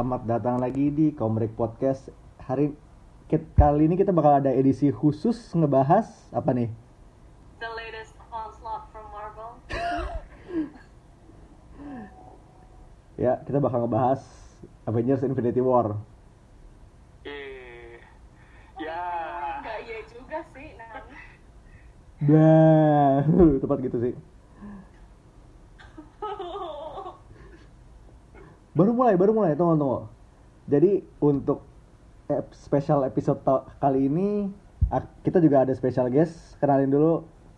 Selamat datang lagi di Komrek Podcast. Kali ini kita bakal ada edisi khusus ngebahas apa nih? The latest onslaught from Marvel. Ya, kita bakal ngebahas Avengers Infinity War. Nggak iya juga sih, Nan. Bah, tepat gitu sih. Baru mulai, tunggu. Jadi untuk special episode kali ini kita juga ada special guest. Kenalin dulu.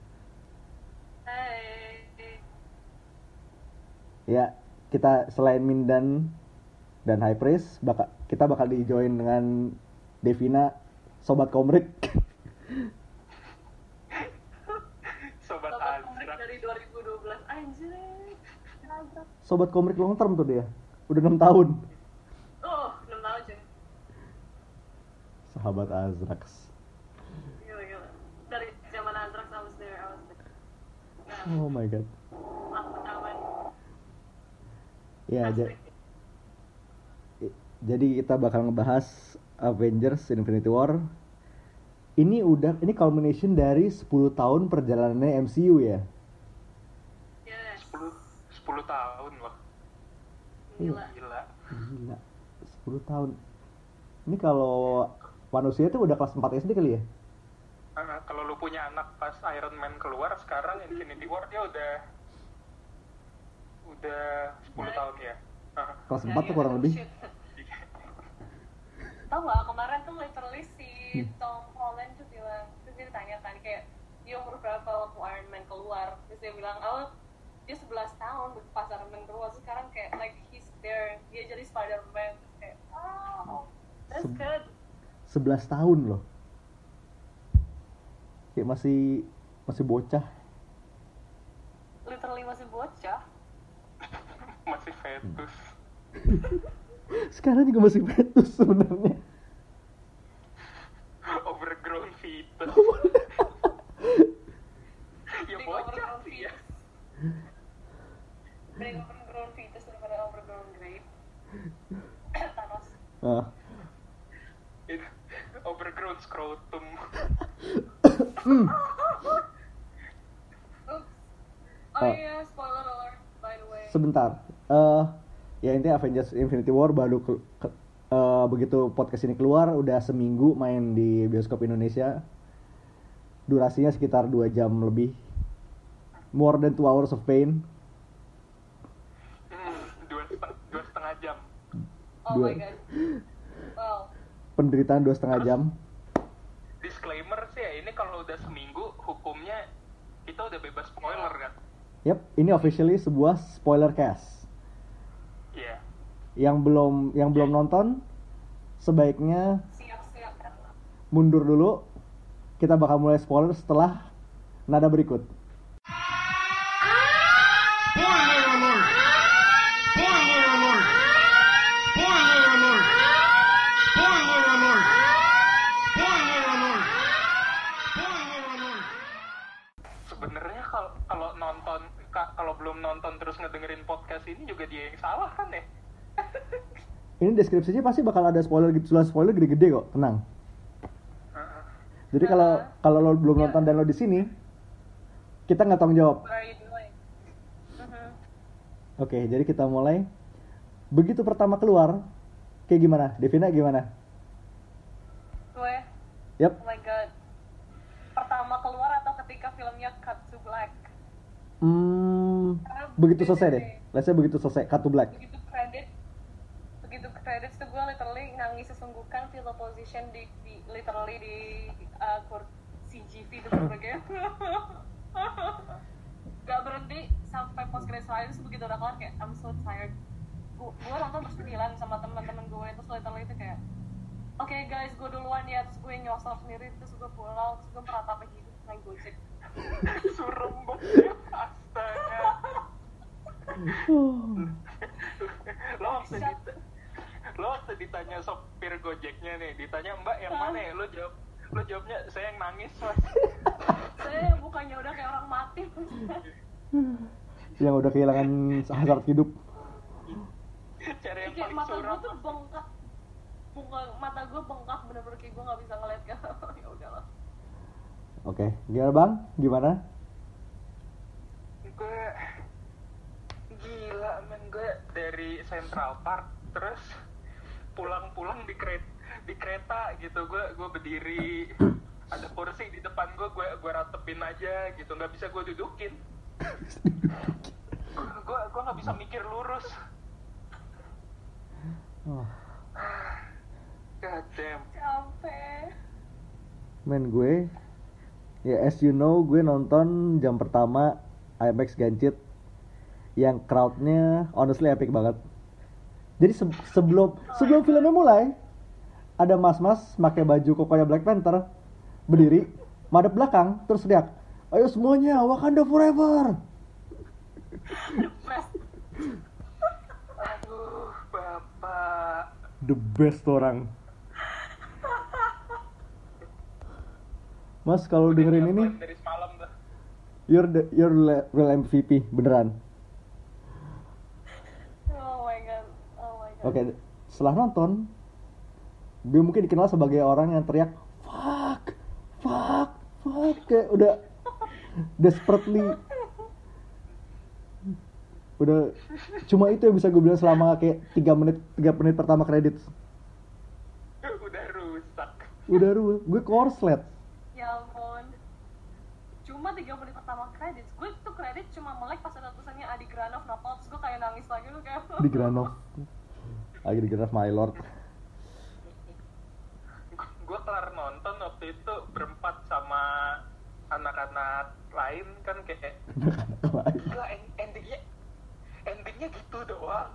Hey. Ya, kita selain Mindan dan High Priest, kita bakal di-join dengan Devina, Sobat Komrik. Sobat Komrik dari 2012, anjir. Sobat Komrik long term tuh dia. Udah 6 tahun. Oh, 6 tahun aja. Sahabat Azrax. Gila. Dari zaman Anthrax I was there. Oh my god. Aman. Ya, jadi kita bakal ngebahas Avengers Infinity War. Ini culmination dari 10 tahun perjalanannya MCU ya. Yes. 10 tahun loh. Gila. 10 tahun. Ini kalau manusia tuh udah kelas 4 SD kali ya? Kalau lu punya anak pas Iron Man keluar, sekarang Infinity War dia udah 10 tahun ya. Kelas 4 tuh kurang lebih. Tahu nggak, kemarin tuh literally si Tom Holland tuh bilang, terus dia ditanya kan kayak dia umur berapa waktu Iron Man keluar, terus dia bilang dia 11 tahun pas Iron Man keluar, terus sekarang kayak like he's there, dia jadi Spider-Man, terus kayak that's good. 11 tahun loh. Kayak masih bocah. Literally masih bocah. Masih fetus. Sekarang juga masih fetus sebenarnya. Overgrown fetus. Ya bocah sih ya. Mending overgrown fetus daripada overgrown grape. Thanos. Overgrown scrotum. Iya, spoiler alert by the way. Sebentar. Ya intinya Avengers Infinity War baru begitu podcast ini keluar udah seminggu main di bioskop Indonesia. Durasinya sekitar 2 jam lebih. More than 2 hours of pain. 2,5 jam. Oh my god. Wow. Penderitaan 2,5 jam. Disclaimer sih ya, ini kalau udah seminggu hukumnya kita udah bebas spoiler kan? Yap, ini officially sebuah spoiler cast. Iya. Yang belum nonton sebaiknya Siap. mundur dulu. Kita bakal mulai spoiler setelah nada berikut. Spoiler alert! Spoiler alert! Spoiler alert! Spoiler alert! Spoiler alert! Spoiler alert! Sebenarnya kalau belum nonton terus ngedengerin podcast ini juga dia yang salah kan ya? Ini deskripsinya pasti bakal ada spoiler gede-gede kok, tenang. Jadi kalau lo belum nonton dan lo di sini, kita nggak tanggung jawab. What are you doing? Oke, jadi kita mulai. Begitu pertama keluar, kayak gimana? Devina gimana? Gue, Yap. oh my god. Pertama keluar atau ketika filmnya cut to black? Begitu selesai deh. Let's say begitu selesai, cut to black. Begitu credits tuh gue literally nangis sesungguhkan, feel the position di literally di CGV itu berbagai. Gak berhenti sampai post credits lain, terus begitu udah kelar kayak I'm so tired. Gue nonton bersebelahan sama teman-teman gue, terus literally itu kayak oke guys, gue duluan ya, terus gue nyosor sendiri, terus gue pulang, terus gue meratapi hidup naik Gojek. Surem banget. Astaga. Lo waktu ditanya sopir Gojeknya nih, ditanya Mbak yang mana ya, lo jawabnya saya yang nangis mas. Saya bukannya udah kayak orang mati. Yang udah kehilangan hasrat hidup. Cara yang Kayak paling mata suram. gue tuh bengkak, mata gue bengkak bener-bener kayak gue nggak bisa ngeliat kan. Ya udahlah. Oke, gimana Bang? Gimana? Gue gila men, gue dari Central Park terus pulang di kereta gitu, gue berdiri, ada kursi di depan gue ratepin aja gitu, nggak bisa gue dudukin. gue nggak bisa mikir lurus. Oh. God damn. Capek. Men gue, ya as you know, gue nonton jam pertama IMAX Gancit yang crowdnya honestly epic banget. Jadi sebelum filmnya mulai, ada mas-mas pakai baju kokonya Black Panther berdiri madep belakang terus teriak, ayo semuanya Wakanda Forever. Aduh, bapak. The best orang. Mas kalau dengerin ini, Dari semalam tuh. you're real MVP beneran. Oh my god. Oke, setelah nonton, dia mungkin dikenal sebagai orang yang teriak fuck, kayak udah desperately, udah cuma itu yang bisa gue bilang selama kayak 3 menit pertama kredit. Udah rusak. Gue korslet. Ya ampun. Cuma 3 menit pertama kredit, gue tuh kredit cuma melek pas ada tulisannya Adi Granov Napal, terus gue kayak nangis lagi tuh kayak. Di Granov my lord. Gue kelar nonton waktu itu berempat sama anak-anak lain kan kayak gila, endingnya gitu doang.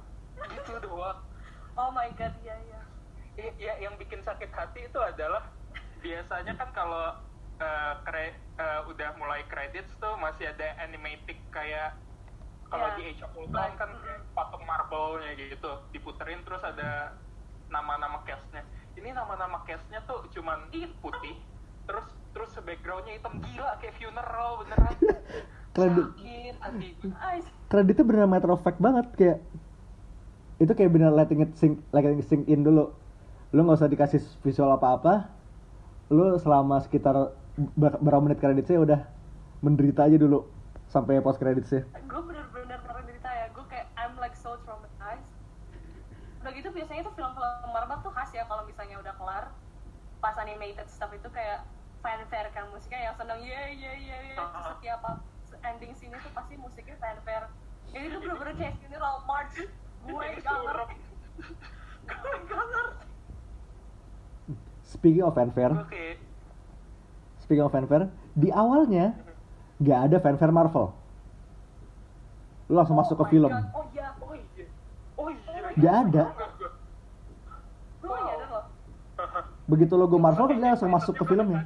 Oh my god, iya. Ya, yang bikin sakit hati itu adalah biasanya kan kalau udah mulai credits tuh masih ada animatic kayak kalau Ya, di Age of Ultron kan kayak patung marble-nya gitu diputerin terus ada nama-nama cast-nya. Ini nama-nama cast-nya tuh cuman putih terus background-nya hitam, gila kayak funeral beneran. Sakit hati gue. Kreditnya bener matter of fact banget, kayak itu kayak bener letting it sink in dulu. Lu nggak usah dikasih visual apa-apa, lu selama sekitar berapa menit kreditnya udah menderita aja dulu sampai post kreditnya. Gue bener-bener menderita ya, gue kayak I'm like so traumatized. Udah gitu biasanya tuh film-film Marvel tuh khas ya, kalau misalnya udah kelar pas animated stuff itu kayak fanfare kan, musiknya yang seneng terus setiap ending scene itu pasti musiknya fanfare. Jadi itu bener-bener kayak funeral march. Gue gak ngerti. Speaking of fanfare, di awalnya nggak ada fanfare Marvel. Lu langsung masuk ke film. God. Oh iya. Nggak ada. Gue gak ada loh. Begitu logo Marvel dia langsung masuk ke filmnya.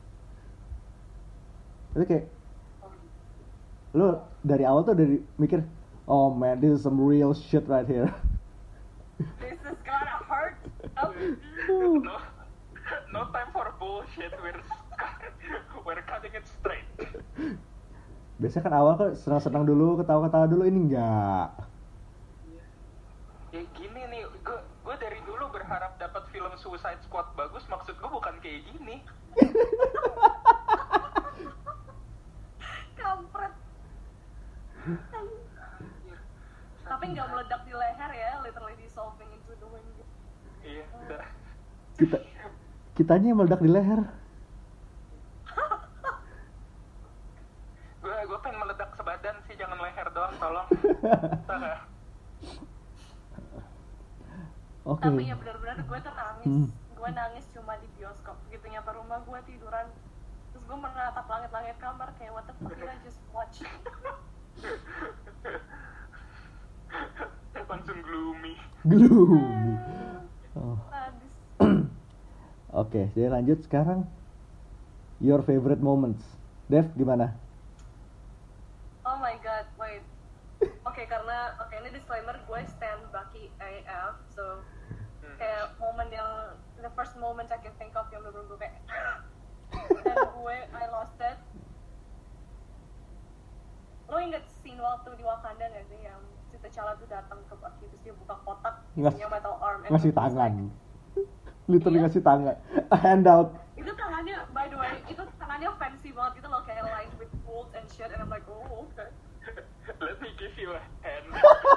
Itu kayak lu dari awal tuh dari mikir, oh man, this is some real shit right here. This is gonna hurt. No time for bullshit. We're cutting it straight. Biasanya kan awal kan senang-senang dulu, ketawa-ketawa dulu, ini enggak. Ya gini nih, gue dari dulu berharap dapat film Suicide Squad bagus, maksud gue bukan kayak gini. Kampret. Tapi nggak meledak di leher ya, literally dissolving into the wind. Iya, udah. Kitanya yang meledak di leher. Gue pengen meledak sebadan sih, jangan leher doang, tolong. Oke. Tapi ya benar-benar gue tuh nangis. Gue nangis cuma di bioskop. Begitu nyampe rumah gue tiduran. Terus gue menatap langit-langit kamar kayak what the fuck did I just watch? Langsung gloomy. Oh. Sadis. Oke, jadi lanjut sekarang. Your favorite moments. Dev, gimana? Oh my god, wait. Oke, karena ini disclaimer, gue stand Bucky AF, so kayak momen yang the first moment I can think of yang bener-bener gue kayak dan I lost it. Lo inget scene waktu di Wakanda gak sih yang si T'Challa tuh datang ke Bucky terus dia buka kotak Ngas- isinya metal arm and ngasih he's like, tangan. Literally Iya. ngasih tangan. Handout. itu tangannya, by the way, itu tangannya fancy banget gitu loh, kayak lined with gold and shit, and I'm like, oh, okay. Let me give you a hand.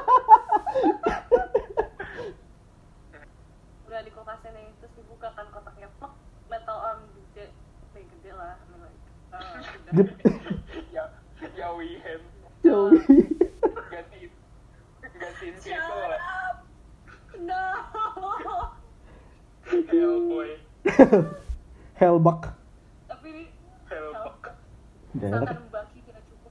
Udah di kulkasnya nih, terus dibuka kan kotaknya, plek, metal arm gede, gede lah, I mean, like, Gede. Ya we hand. Joey. Gantiin Shut people lah. up! No! Hellboy. Hellbuck. Tapi ini, Hellbuck. Gak enak. Satan Bucky tidak cukup.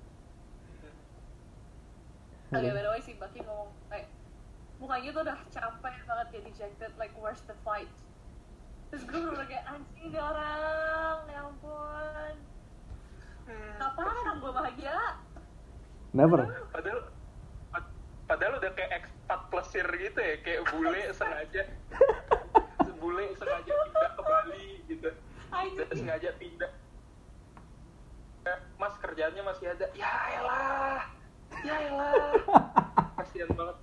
Oke, by the way, si Bucky ngomong, kayak, mukanya tuh udah capek banget, dia dejected, like, where's the fight? Terus gue bener kayak, anjing nih orang, ya ampun. Kapan orang gue bahagia? Never. Padahal udah kayak expat plesir gitu ya, kayak bule sengaja pindah ke Bali gitu. Dan sengaja pindah. Mas kerjaannya masih ada. Ya elah. Kasian banget.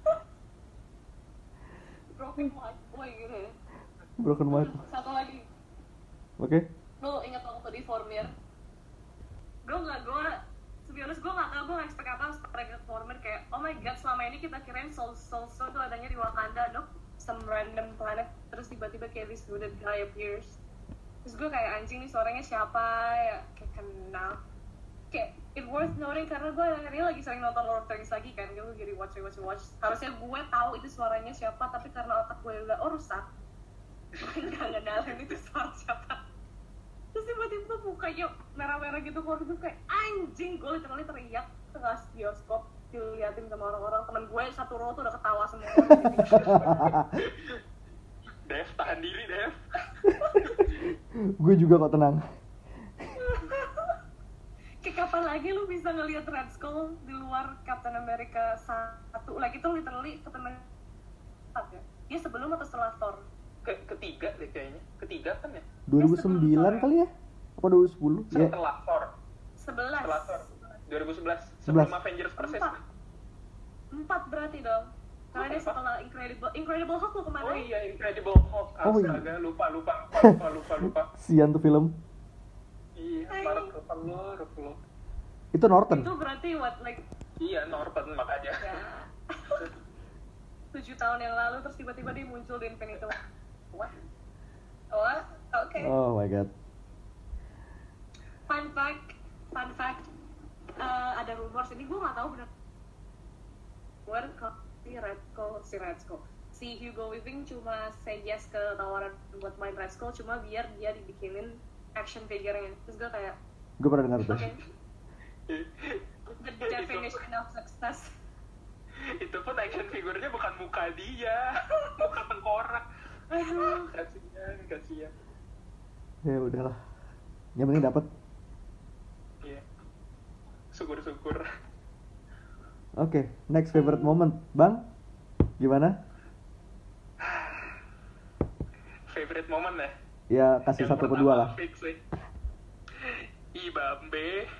Broken heart, woi gitu ya. Broken White. Satu lagi, Oke. lo ingat waktu di Vormir? Gue to be honest, gue gak tau, gue gak expect apa setelah Vormir kayak, oh my god, selama ini kita kirain Soul Stone tuh adanya di Wakanda, dok, some random planet, terus tiba-tiba kayak this hooded guy appears. Terus gue kayak, anjing nih suaranya siapa, ya kayak kenal. Kayak, it worth noting karena gue akhirnya lagi sering nonton Lord of the Rings lagi kan, gue jadi watch. Harusnya gue tahu itu suaranya siapa, tapi karena otak gue udah rusak, gue gak ngedalin itu suara siapa. Terus tiba-tiba mukanya merah-merah gitu, keluar gitu kayak anjing, gue literally teriak tengah bioskop diliatin sama orang-orang. Temen gue satu row tuh udah ketawa semua orang. Dev, tahan diri Dev. Gue juga kok, tenang. Kayak kapan lagi lu bisa ngelihat Red Skull di luar Captain America 1? Like itu literally Captain America 4 ya? Dia sebelum atau setelah Thor? Ketiga deh kayaknya. Ketiga kan ya? 2009 kali ya? Apa 2010? Ya. Setelah Thor. 11. Setelah Thor. 2011. Sebelum Avengers Versus. 4 berarti dong. Karena dia setelah Incredible Hulk lu kemana? Oh iya, Incredible Hulk. Oh iya. Astaga, lupa. Sian tuh film. Iya, parah lo. Itu Norton. Itu berarti what, like, Iya, Norton makanya. ya 7 tahun yang lalu terus tiba-tiba dia muncul di Infinity War. What? Oke. Oh my god. Fun fact, ada rumors ini gue nggak tahu benar. Kalau si Red Skull, si Hugo Weaving cuma say yes ke tawaran buat main Red Skull cuma biar dia dibikinin action figure-nya. Terus gue kayak, Gue pernah dengar tuh. okay, the definition of success. Itu pun action figurnya bukan muka dia, muka tengkorak. Aduh, kasihan. Ya udahlah. Yang penting dapat. Iya. Syukur. Oke, next favorite moment, Bang. Gimana? Favorite moment ya? Ya kasih Yang satu pertama kedua lah. fix sih. Ibambe.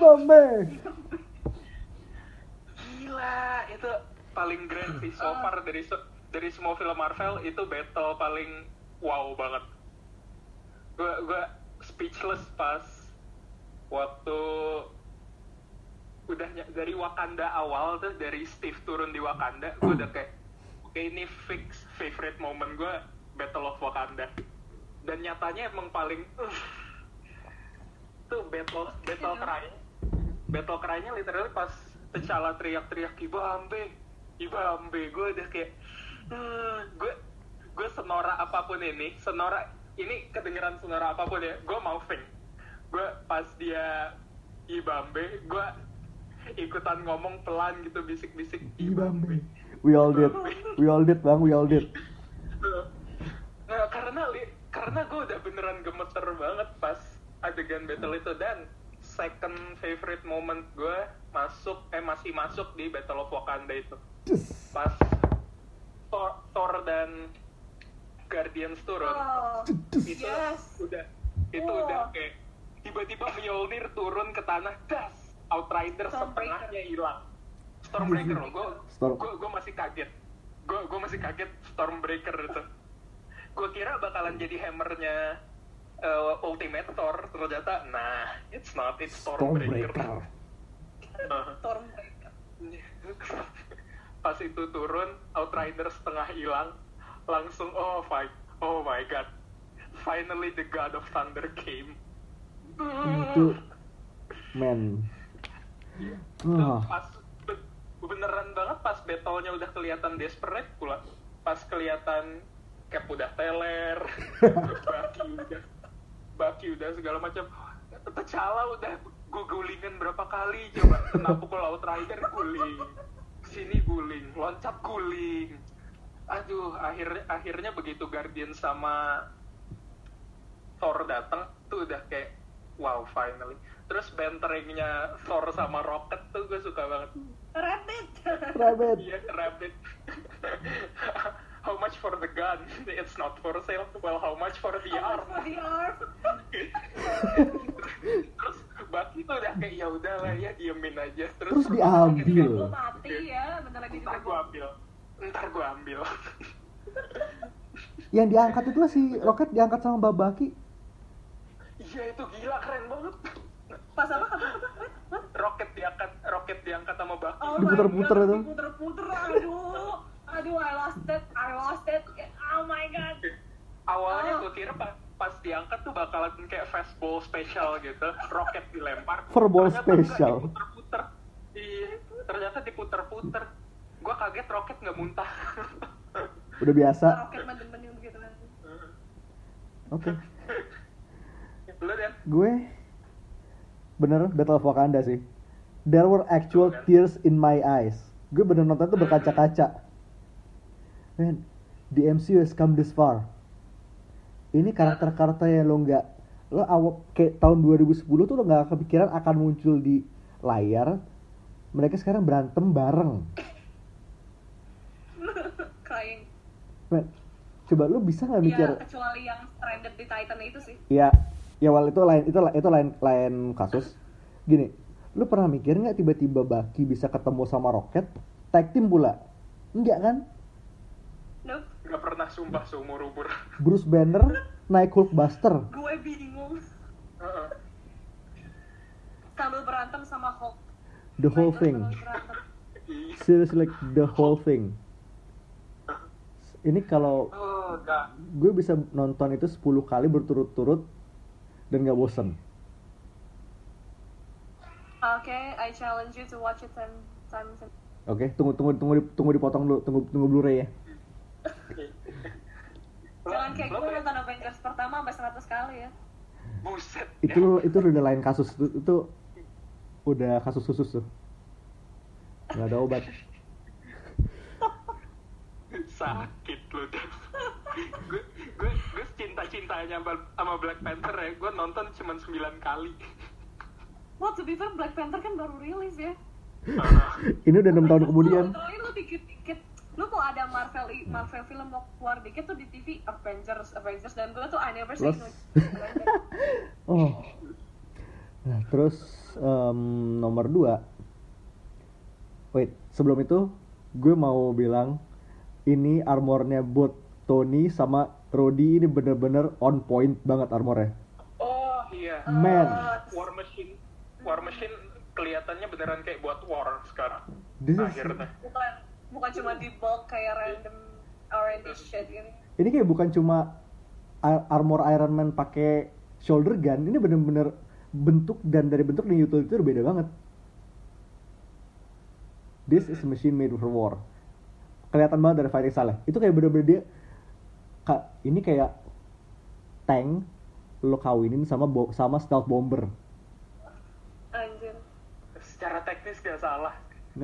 Gila, itu paling grand sih so far dari semua film Marvel. Itu battle paling wow banget. Gue speechless pas waktu udah dari Wakanda awal tuh, dari Steve turun di Wakanda, gue udah kayak oke, ini fix favorite moment gue, Battle of Wakanda. Dan nyatanya emang paling tuh battle cry-nya literally pas T'Challa teriak-teriak Ibambe, gue udah kayak gue senora apapun ini kedengeran senora apapun ya, gue mau faint. Gue pas dia Ibambe, gue ikutan ngomong pelan gitu, bisik-bisik Ibambe. We all did, Bang, we all did. Nah, karena gue udah beneran gemeter banget pas adegan battle itu. Dan second favorite moment gue masih masuk di Battle of Wakanda itu. Pas Thor dan Guardians turun. Itu Yes. udah kayak tiba-tiba Mjolnir turun ke tanah, das, Outrider setengahnya hilang. Stormbreaker loh. Storm. Gue masih kaget. Gue masih kaget Stormbreaker itu. Gue kira bakalan jadi hammernya Ultimate Thor, ternyata it's not, it's Stormbreaker. Stormbreaker. Pas itu turun, Outrider setengah hilang, langsung oh my god, finally the God of Thunder came. Itu man. Pas beneran banget pas battle-nya udah kelihatan desperate pula, pas kelihatan Cap udah teler, Bucky udah segala macam, T'Challa udah gulingan berapa kali coba, kena pukul Outrider guling, sini guling, loncat guling. Aduh, akhirnya begitu Guardian sama Thor datang tuh udah kayak wow, finally. Terus banteringnya Thor sama Rocket tuh gue suka banget. Rabbit. Iya, Rabbit. How much for the gun? It's not for sale. Well, how much for the arm? For the arm. Terus Bucky tuh udah kayak ya udahlah ya, diemin aja. Terus diambil. Lu mati ya, bentar lagi Ntar gua ambil. Yang diangkat itu si Rocket diangkat sama Bucky. Iya, itu gila, keren banget. Pas apa? Rocket diangkat sama Bucky. Oh Diputer-puter itu. Diputer-puter, aduh, I lost it. Oh my god. Awalnya gue kira pas diangkat tuh bakalan kayak fastball special gitu, Rocket dilempar. Furball Ternyata special. enggak, diputer-puter. Iya, ternyata diputer-puter. Gue kaget Rocket nggak muntah. Udah biasa. Rocket mendem-mendem gitu kan. Oke. Lu Dan? Gue bener Battle of Wakanda sih. There were actual tears in my eyes. Gue bener nonton itu berkaca-kaca. Man, the MCU has come this far. Ini karakter-karakter yang lo kayak tahun 2010 tuh lo nggak kepikiran akan muncul di layar. Mereka sekarang berantem bareng. Crying. Man, coba lo bisa nggak mikir? Ya, kecuali yang stranded di Titan itu sih. Ya wal itu lain kasus. Gini, lu pernah mikir nggak tiba-tiba Bucky bisa ketemu sama Rocket tag team pula? Enggak kan? Nope. Gak pernah, sumpah, seumur umur. Bruce Banner naik Hulkbuster. Gue bingung. Sambil berantem sama Hulk. The whole thing. Seriously, like the whole thing. Ini kalau gue bisa nonton itu 10 kali berturut-turut dan gak bosen. Okay, I challenge you to watch it 10 times. Oke, tunggu dipotong dulu, tunggu Blu-ray ya. Jangan kayak gue nonton Avengers pertama sampai 100 kali ya. Buset. Itu udah lain kasus, itu udah kasus khusus tuh. Gak ada obat. Sakit lu deh. gue cinta-cintanya sama Black Panther ya. Gue nonton cuma 9 kali. Well, to be fair, Black Panther kan baru rilis ya. Ini udah 6 tahun kemudian. Lu dikit-dikit, lu kok ada Marvel film mau keluar dikit tuh di TV Avengers dan gue tuh I never say no. Oh. Nah, terus nomor 2. Wait, sebelum itu gue mau bilang ini armornya buat Tony sama Rhodey ini bener-bener on point banget armornya. Oh iya. Man. War Machine kelihatannya beneran kayak buat war sekarang. Akhirnya. Bukan cuma di bulk kayak random R&D shit ini. Ini kayak bukan cuma armor Iron Man pakai shoulder gun, ini bener-bener bentuk dan utility itu beda banget. This is a machine made for war. Kelihatan banget dari fighting style. Itu kayak bener-bener dia ini kayak tank lo kawinin sama stealth bomber. Anjir. Secara teknis gak salah.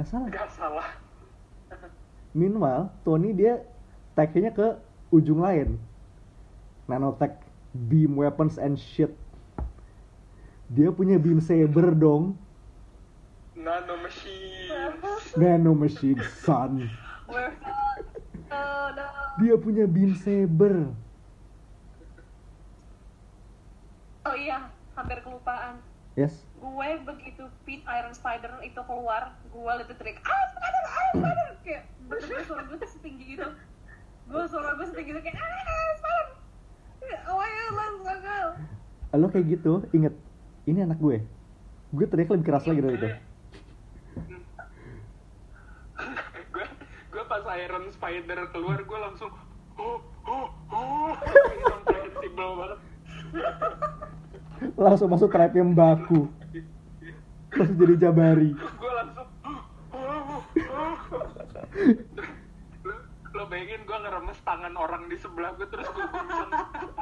Meanwhile, Tony dia tag-nya ke ujung lain. Nanotech, beam weapons and shit. Dia punya beam saber dong. Nano machine, son. We're no. Dia punya beam saber. Oh iya, hampir kelupaan. Yes. gue begitu Pete Iron Spider itu keluar, gue lebih teriak Spider kayak bener-bener suara gue tuh setinggi itu. Suara gue setinggi itu kayak Spider. Oh ya, let's go. Lo kayak gitu, inget ini anak gue teriak lebih keras lagi dari itu. gue pas Iron Spider keluar gue langsung insensible banget. Langsung masuk trap yang baku, langsung jadi Jabari. Gue langsung lo bayangin gue ngeremes tangan orang di sebelah gue terus gue guncang.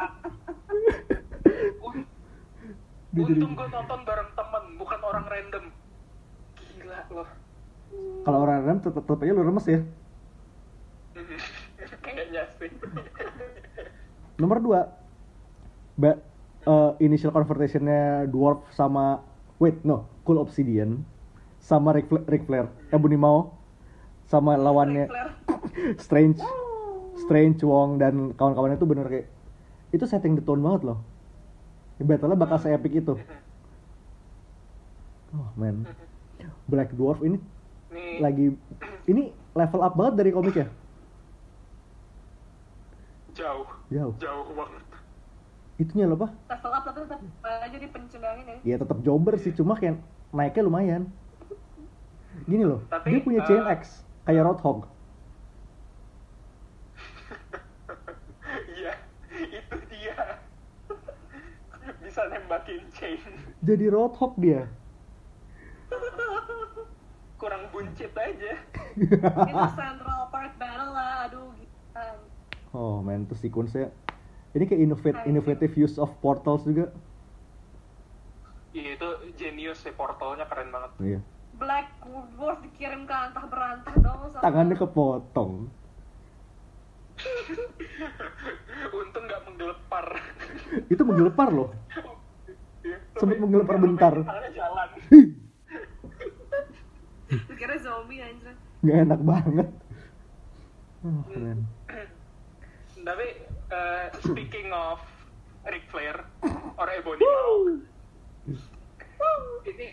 Untung gue nonton bareng temen, bukan orang random. Gila lo. Kalau orang random tetep aja lu remes ya. Kayaknya sih. Nomor 2, initial confrontation-nya Dwarf sama Cool Obsidian sama Ric Flair, Ebony Maw sama lawannya Strange Wong dan kawan-kawannya itu bener kayak itu setting the tone banget loh. Battle-nya bakal se-epic itu. Oh man, Black Dwarf ini ini level up banget dari komiknya. Jauh banget. Itunya loh apa? Level up tapi tetap aja dipencendangin ya. Iya tetap jobber sih, cuma kayak naiknya lumayan. Gini loh, tapi, dia punya chain X kayak Roadhog. Iya, itu dia. Bisa nembakin chain. Jadi Roadhog dia. Kurang buncit aja. Itu Central Park Battle lah, aduh gila. Oh man, itu sequence-nya. Ini kayak innovative use of portals juga. Iya itu genius sih, portalnya keren banget. Iya. Black Dwarf dikirim ke antah berantah dong sama... Tangannya kepotong. Untung nggak menggelepar. Itu menggelepar loh. Sempet menggelepar bentar. Tangannya jalan. Kira zombie anjir. Nggak enak banget. Oh, keren. Tapi speaking of Ric Flair or Ebony Maw, ini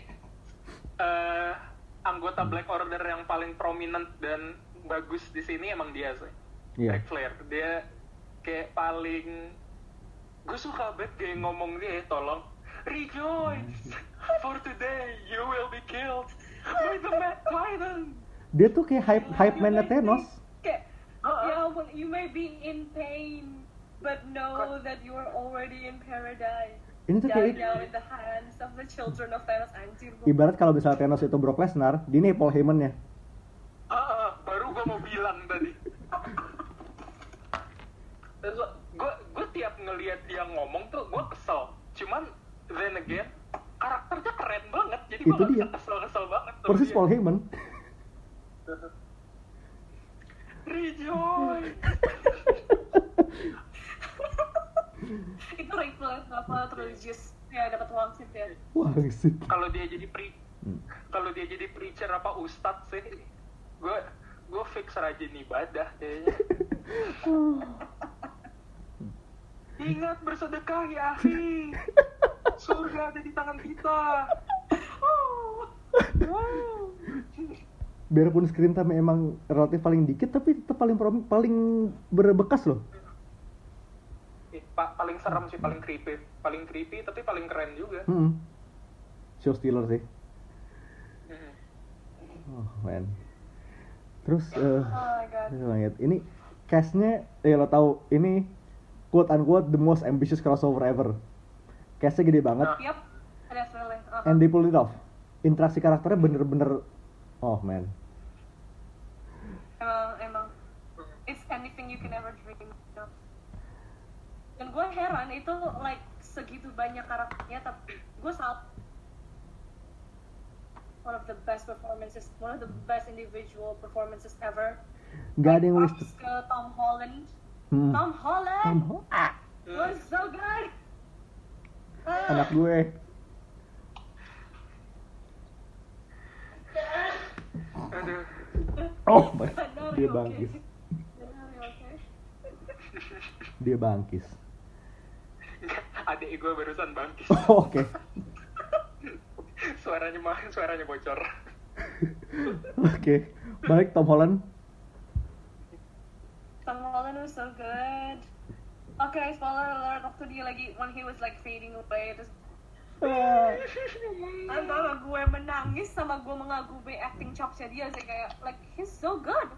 anggota Black Order yang paling prominent dan bagus di sini emang dia sih. Iya. Ric Flair, dia kayak paling, gue suka banget kayak ngomong dia, tolong rejoice for today you will be killed by the Mad Titan. Dia tuh kayak hype man Thanos. Kayak, ya ampun, you may be in pain, but know that you are already in paradise. Ini tuh kayak down in the hands of the children of Thanos, anjir. ibarat kalau misalnya Thanos itu Brock Lesnar, dia Paul Heyman-nya. Baru gue mau bilang tadi. Gue tiap ngelihat dia ngomong tuh gue kesel. Cuman then again karakternya keren banget, jadi gue gak bisa kesel banget. Persis Paul Heyman. Rejoice. Itu Ric-Flair apa religious ya, dapat wangsit ya. Wangsit. Kalau dia jadi preacher apa ustadz sih, gue fix rajin ibadah kayaknya. Ingat bersedekah ya akhi, surga ada di tangan kita. Biarpun screen time emang relatif paling dikit, tapi tetap paling berbekas loh. Paling serem sih, paling creepy tapi paling keren juga. Show stealer sih. Oh man. Terus Oh my god. Ini cast-nya lo tahu ini quote unquote the most ambitious crossover ever. Cast-nya gede banget. Yep, definitely. And they pulled it off. Interaksi karakternya bener-bener oh man. Emang it's anything you can ever dream of. Dan gue heran itu like segitu banyak karakternya, tapi gue salah. One of the best performances, one of the best individual performances ever. Gak ada yang Props wasted. ke Tom Holland. Tom Holland was so good. Anak gue. Aduh. Oh, Benar, dia oke. bangkis. Benar, oke. Dia bangkis. Adik gue barusan bangkis. Oh, oke. suaranya bocor. Oke, balik Tom Holland. Tom Holland was so good. Okay, spoiler alert, waktu dia lagi when he was like fading away, terus antara gue menangis sama gue mengagumi acting chopsnya dia sih, kayak like he's so good,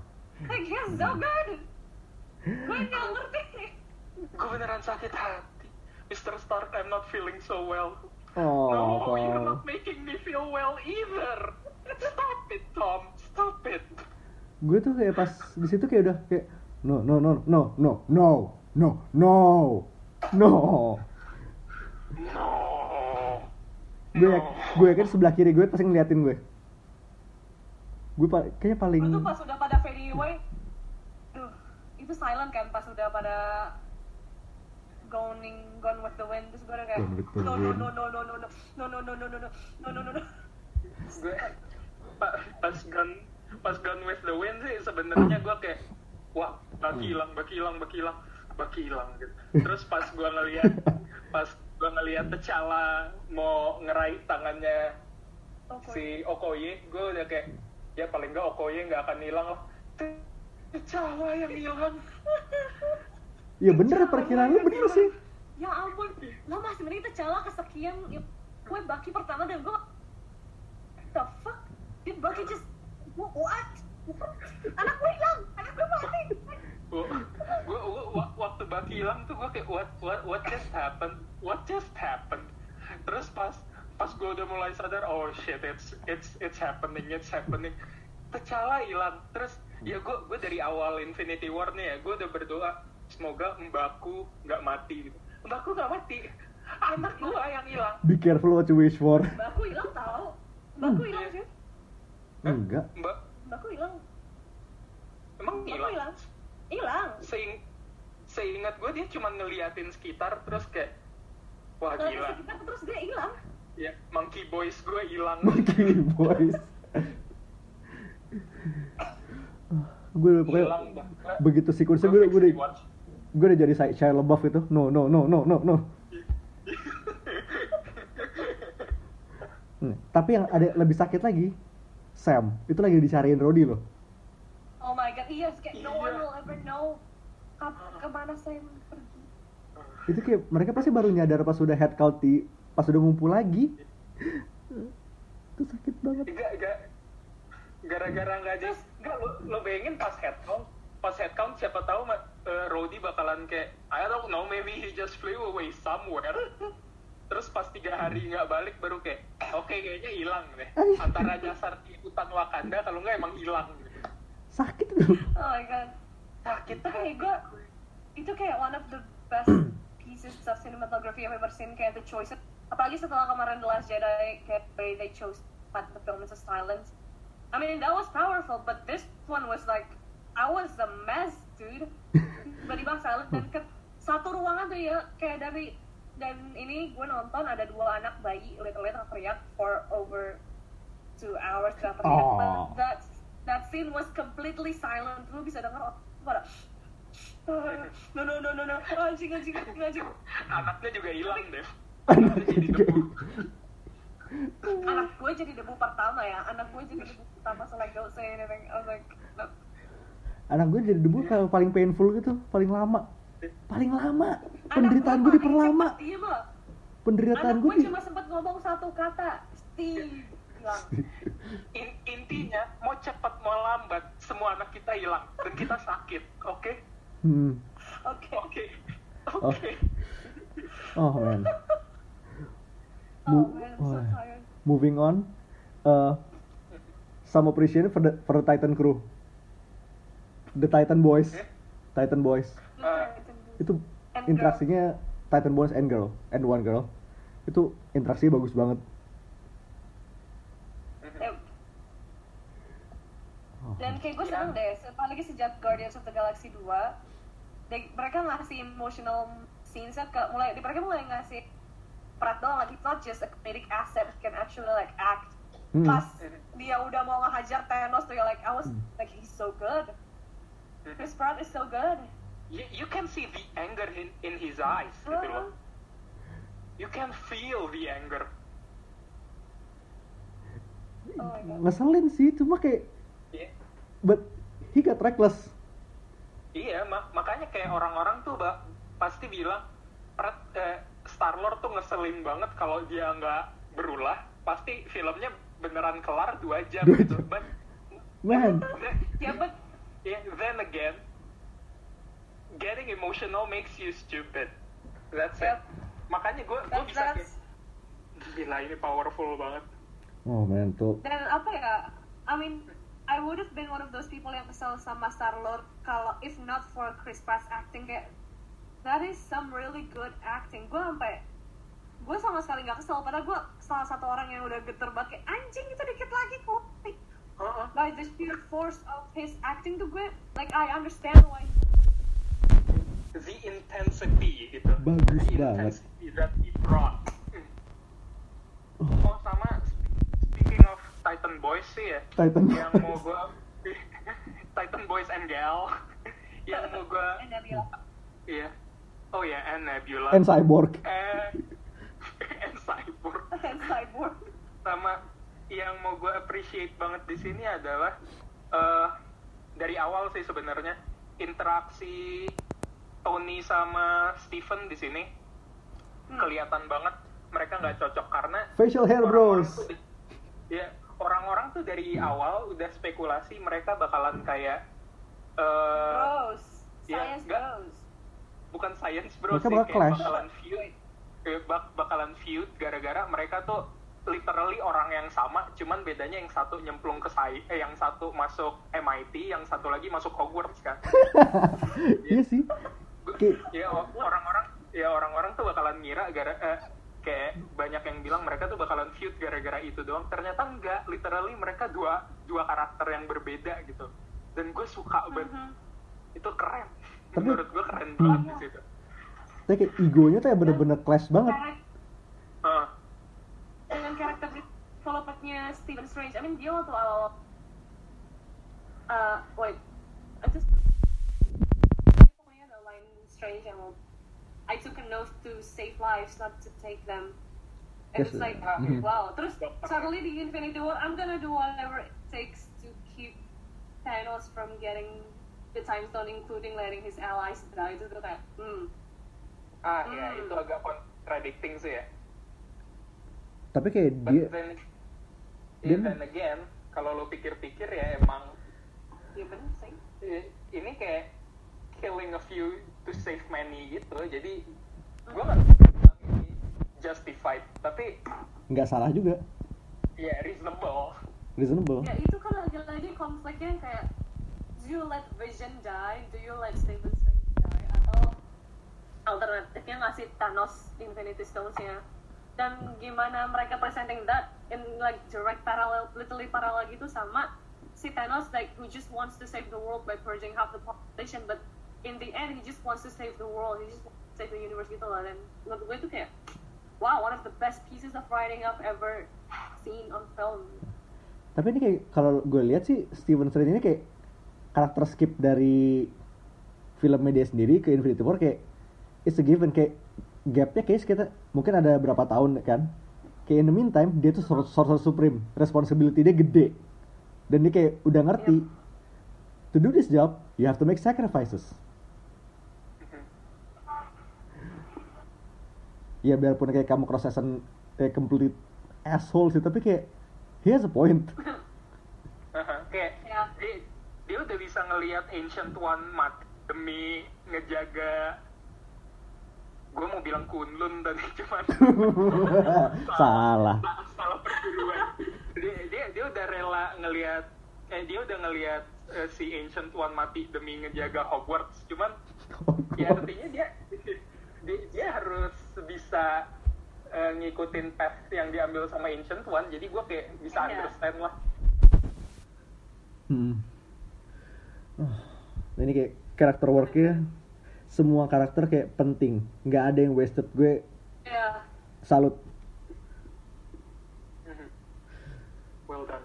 gue nggak ngerti. Gue beneran sakit hati. Mr. Stark, I'm not feeling so well. Oh, No, you're not making me feel well either. Stop it, Tom. Stop it. gue tuh kayak pas di situ kayak udah kayak no. No. Gue yakin sebelah kiri gue pasti ngeliatin gue. Kayaknya paling. Itu pas udah pada fading away, itu silent kan pas udah pada gone with the wind, terus gue udah kayak no. Gue pas Gone with the Wind sih sebenarnya gue kayak wah baki hilang gitu. Terus pas gue ngeliat T'Challa mau ngeraih tangannya si Okoye, gue udah kayak ya paling nggak Okoye nggak akan hilang lah. T'Challa yang hilang. Ya bener, perkiraan lu bener sih. Ya ampun, lo masih mending T'Challa kesekian. Gue Bucky pertama dan gue the fuck, did Bucky just what? Anak gue hilang, anak gue mati. Gue waktu Bucky hilang tuh gue kayak what just happened. Terus pas gue udah mulai sadar, oh shit, it's happening. T'Challa hilang. Terus ya gue dari awal Infinity War nih ya, gue udah berdoa semoga Mbaku nggak mati gitu. Mbaku nggak mati, anak gue yang hilang. Be careful what you wish for. Mbaku hilang tau. Mbaku hilang sih. Enggak. Mbaku hilang. Emang hilang? Hilang. Seingat gue dia cuma ngeliatin sekitar terus kayak wah gila. Terus dia hilang. Ya, Monkey Boys gue hilang. Monkey Boys. Gue udah pokoknya begitu sekuensnya gue udah jadi Shia LaBeouf itu. No. Tapi yang ada lebih sakit lagi, Sam itu lagi dicariin Rhodey loh. Oh my god, iya, kayak no one will ever know kemana Sam pergi. Itu kayak mereka pasti baru nyadar pas udah head count pas udah ngumpul lagi. Itu sakit banget. Gara-gara nggak jadi, lo bayangin pas head count siapa tahu Rhodey bakalan kayak I don't know, maybe he just flew away somewhere. Terus pas 3 hari nggak balik baru kayak oke, kayaknya hilang deh. Antara nyasar di hutan Wakanda kalau nggak emang hilang gitu. Sakit tuh. Oh my god, Sakit kayak gue itu kayak one of the best pieces of cinematography I've ever seen, kayak the choice, apalagi setelah kemarin The Last Jedi, kayak way they chose part the film as a silence. I mean that was powerful, but this one was like I was a mess, dude. Tiba-tiba silent dan ke satu ruangan tuh ya, kayak dan ini gue nonton ada 2 anak bayi lihat teriak for over 2 hours teriak. But that scene was completely silent. Lu bisa dengar pada no anjing. Anaknya juga hilang deh. Anak gue jadi debu pertama ya. So like don't say anything. I was like no. Anak gue jadi debu paling painful gitu, paling lama. Penderitaan gue diperlama. Penderitaan gue cuma sempat ngomong satu kata, Steve. Intinya mau cepat mau lambat semua anak kita hilang dan kita sakit, oke? Oke. Oh man. I'm so tired. Moving on. Some appreciation for the Titan crew. The Titan Boys. Itu interaksinya Titan Boys and one girl. Itu interaksinya bagus banget. Dan kayak gue seneng deh, apalagi sejak Guardians of the Galaxy 2, mereka ngasih emotional scenes-nya mereka mulai ngasih perat doang, like it's not just a comedic asset, it can actually like act. Pas dia udah mau ngehajar Thanos tuh ya, like I was like he's so good. Chris Pratt is so good. You can see the anger in his eyes, gitu loh. You can feel the anger. Oh my God. ngeselin sih, cuma kayak Iya. but he got reckless. Iya, makanya kayak orang-orang tuh pasti bilang Star-Lord tuh ngeselin banget kalau dia nggak berulah. Pasti filmnya beneran kelar 2 jam 2 gitu. jam. But Man, Yeah, but then again, getting emotional makes you stupid. That's it. Yep. Makanya gue bisa kayak, gila ini powerful banget. oh man tuh. dan apa ya, I mean I would have been one of those people yang kesel sama Star-Lord kalau if not for Chris Pratt's acting. Kayak that is some really good acting. Gue sama sekali nggak kesel, padahal gue salah satu orang yang udah geter banget kayak anjing itu dikit lagi kok. By the sheer force of his acting tuh gue like I understand why. The intensity gitu. Bagus The banget. intensity that he brought. Oh sama speaking of Titan Boys sih ya. Titan Yang mau gue Titan Boys and Gal. Yang mau gue And Nebula. iya. Oh ya, and Nebula. and Cyborg. And Cyborg. And Cyborg. Sama yang mau gue appreciate banget di sini adalah dari awal sih sebenarnya interaksi Tony sama Steven di sini kelihatan banget mereka nggak cocok karena Facial hair orang-orang bros. tuh orang-orang tuh dari awal udah spekulasi mereka bakalan kayak Bros. ya, Science enggak. bros. bukan science bro Mereka sih, bakal kayak clash. bakalan feud gara-gara mereka tuh literally orang yang sama, cuman bedanya yang satu nyemplung ke yang satu masuk MIT, yang satu lagi masuk Hogwarts kan. Iya sih. Ya orang-orang tuh bakalan ngira kayak banyak yang bilang mereka tuh bakalan feud gara-gara itu doang. Ternyata enggak, literally mereka dua karakter yang berbeda gitu. Dan gue suka banget. Itu keren. Tapi- Menurut gue keren banget di situ. Tapi kayak egonya tuh ya bener-bener clash banget. Dengan karakter developmentnya Stephen Strange, I mean dia waktu awal wait, I just pokoknya ada line Strange yang I took an oath to save lives, not to take them. And Yes, it's like, mhm. wow. Terus suddenly the Infinity War, I'm gonna do whatever it takes to keep Thanos from getting the Time Stone, including letting his allies die. Itu tuh kayak, Ya itu agak contradicting sih ya. Tapi kayak But dia then again, kalau lo pikir-pikir ya emang ya bener sih. ini kayak killing a few to save many gitu. Jadi gue nggak bilang ini justified, tapi nggak salah juga. ya reasonable. Reasonable. Ya itu kan lagi-lagi konfliknya yang kayak do you let Vision die, do you let Stephen Strange die, atau alternatifnya ngasih Thanos Infinity Stones-nya. Dan gimana mereka presenting that in like direct parallel, literally parallel gitu sama si Thanos like who just wants to save the world by purging half the population, but in the end he just wants to save the world, he just wants to save the universe gitu lah. Dan menurut gue itu kayak wow, one of the best pieces of writing I've ever seen on film. Tapi ini kayak kalau gue lihat sih Stephen Strange ini kayak karakter skip dari film media sendiri ke Infinity War kayak it's a given, kayak gapnya kayak sekitar mungkin ada berapa tahun kan. Kayak in the meantime dia tuh Sorcerer Supreme, responsibility dia gede. Dan dia kayak udah ngerti to do this job you have to make sacrifices. Ya biarpun kayak kamu cross-season complete asshole sih, tapi kayak he has a point. Kayak Ya. dia udah bisa ngelihat Ancient One mati demi ngejaga, gue mau bilang Kunlun tadi cuman Salah. salah perguruan. Dia udah rela ngelihat si Ancient One mati demi ngejaga Hogwarts, cuman ya artinya dia harus bisa ngikutin path yang diambil sama Ancient One. Jadi gue kayak bisa Iya. understand lah. Ini kayak karakter worknya semua karakter kayak penting, nggak ada yang wasted. Gue Ya. salut. Well done.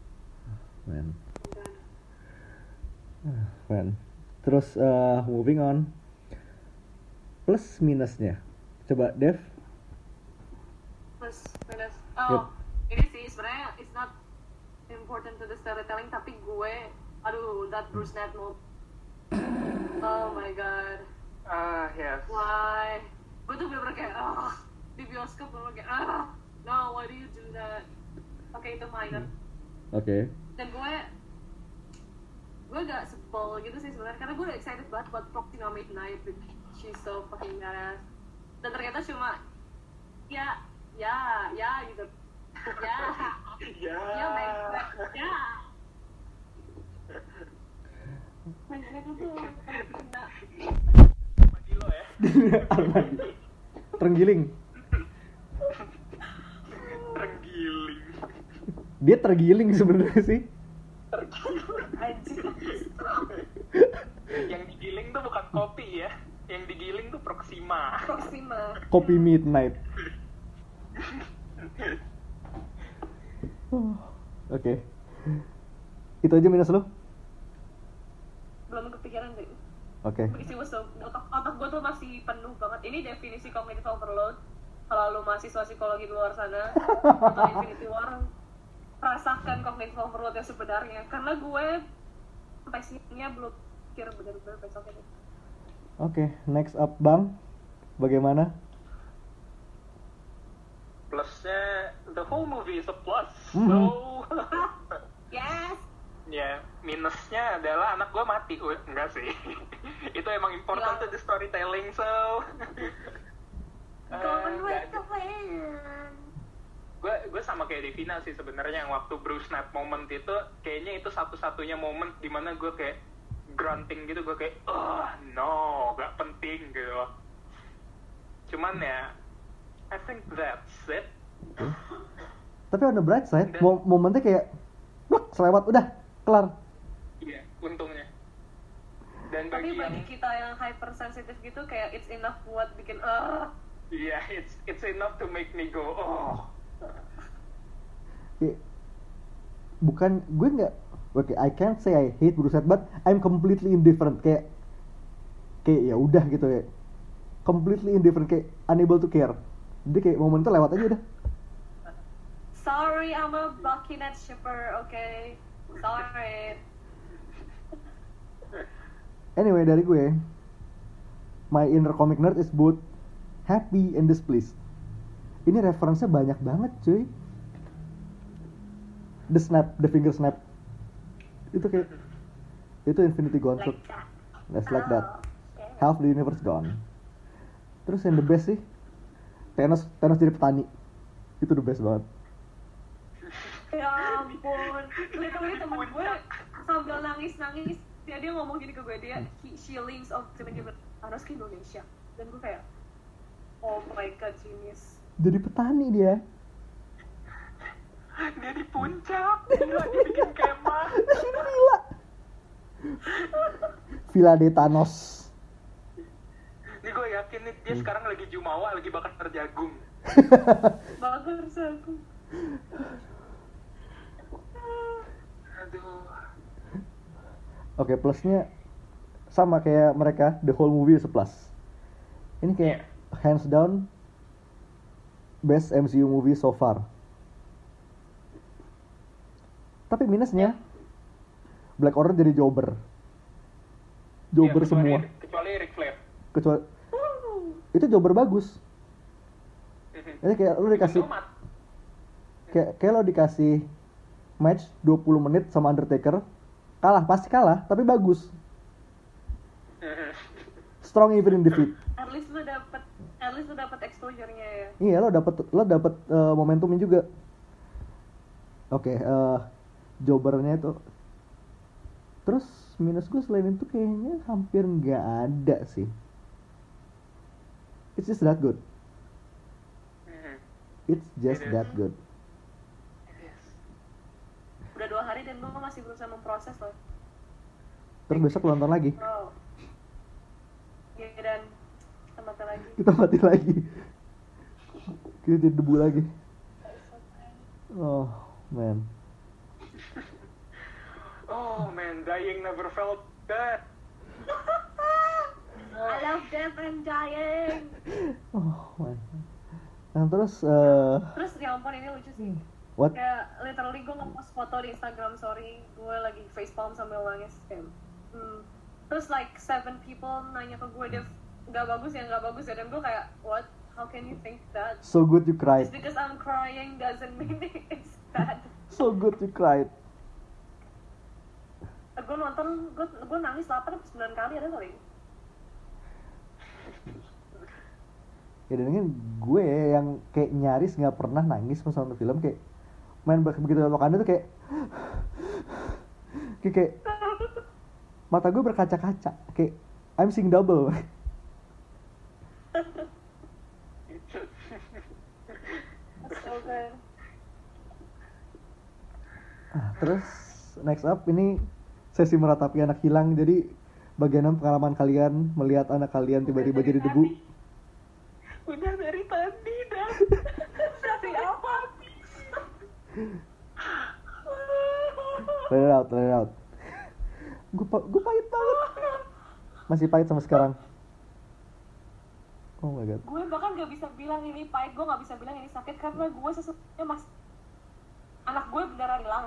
Man. Terus moving on, plus minusnya coba Dev. Plus minus. Yep. Ini sih sebenarnya it's not important to the storytelling, tapi gue, aduh, that Bruce Nat moment. Oh my god. Yes. Why? Gue tuh bener-bener kayak, di bioskop bener kayak, no, why do you do that? Oke, itu minor. Oke. Dan gue gak sebel gitu sih sebenarnya, karena gue udah excited banget buat Proxima Midnight, she's so fucking badass. Dan ternyata cuma, ya gitu. Ya. Mainnya tuh kena. Armadillo ya. Terenggiling. Terenggiling. Dia tergiling sebenarnya sih. Anjir. Yang digiling tuh bukan kopi ya. Yang digiling tuh Proxima. Kopi Midnight. Oke. Itu aja minus lu? Belum kepikiran deh. Oke. Otak gue tuh masih penuh banget. Ini definisi cognitive overload. Kalau lu mahasiswa psikologi di luar sana atau Infinity War, rasakan cognitive overload yang sebenarnya. Karena gue sampai sininya belum pikir benar-benar besoknya. Oke, next up Bang. Bagaimana? Plusnya, the whole movie is a plus. Mhm. So, Yes. ya, minusnya adalah anak gue mati. Enggak sih. Itu emang important to the storytelling, so Going with nggak the wind. gue sama kayak Devina sih sebenarnya, yang waktu Bruce Nat moment itu kayaknya itu satu-satunya moment dimana gue kayak grunting gitu, gue kayak no, gak penting gitu. Cuman ya, I think that's it. Tapi on the bright side, momennya kayak selewat udah kelar. Iya, untungnya. Dan Tapi bagi yang bagi kita yang hypersensitif gitu, kayak it's enough buat bikin iya, it's enough to make me go Kayak, bukan gue nggak, oke, I can't say I hate Bruce Nat, but I'm completely indifferent. Kayak ya udah gitu ya, completely indifferent, kayak unable to care. Jadi kayak momen itu lewat aja udah. sorry, I'm a Bucky Nat shipper, okay? Sorry. Anyway, dari gue, my inner comic nerd is both happy and displeased. Ini referensinya banyak banget, cuy. The snap, the finger snap. Itu kayak, itu Infinity Gauntlet. Like that. That's like that. Okay. Half the universe gone. Terus yang the best sih, Thanos jadi petani. Itu the best banget. Ya ampun, literally temen gue sambil nangis-nangis dia ngomong gini ke gue, she links of Thanos ke Indonesia, dan gue kayak oh my god, genius. Jadi petani dia. dia di puncak, gila, dia bikin kemah. Gila. Villa de Thanos. Ini gue yakin nih dia sekarang lagi jumawa, lagi bakar jagung. Bagus aku. Aduh. Oke, plusnya sama kayak mereka, the whole movie is a plus. Ini kayak hands down best MCU movie so far. Tapi minusnya Black Order jadi jobber. Jobber Ya, semua. Kecuali Ric Flair. Kecuali itu jobber bagus. Ini kayak lu dikasih kayak lo dikasih match 20 menit sama Undertaker, kalah, pasti kalah, tapi bagus. Strong even in defeat. At least lu dapet exposure-nya ya. Iya, lo dapet momentumnya juga. Oke, jobbernya itu. Terus minus gue selain itu kayaknya hampir nggak ada sih. It's just that good. It's just that good. Udah 2 hari dan gue masih berusaha memproses loh. Terus besok lo nonton lagi. Oh. Ya dan kita mati lagi. Kita mati lagi. Kita jadi debu lagi. Oh man. Oh man, dying never felt that. I love death and dying. Oh man. Nah terus Terus ya ampun, ini lucu sih. What? Kayak literally gue nge-post foto di Instagram story gue lagi facepalm sambil nangis kayak terus like 7 people nanya ke gue, Dev, nggak bagus ya dan gue kayak what, how can you think that? So good you cried. Just because I'm crying doesn't mean it's bad. So good you cried. Gue nonton, gue nangis 8 atau 9 kali ada kali. Ya dan kan gue yang kayak nyaris nggak pernah nangis pas nonton film, kayak main begitu Wakanda tuh kayak mata gue berkaca-kaca, kayak I'm seeing double. So good. Terus next up ini sesi meratapi anak hilang. Jadi bagaimana pengalaman kalian melihat anak kalian tiba-tiba jadi debu? Udah dari tadi dah. Dari apa? Let it out. Gue pahit banget. Masih pahit sampai sekarang. Oh my god. Gue bahkan gak bisa bilang ini pahit, gue gak bisa bilang ini sakit karena gue sesungguhnya anak gue beneran hilang.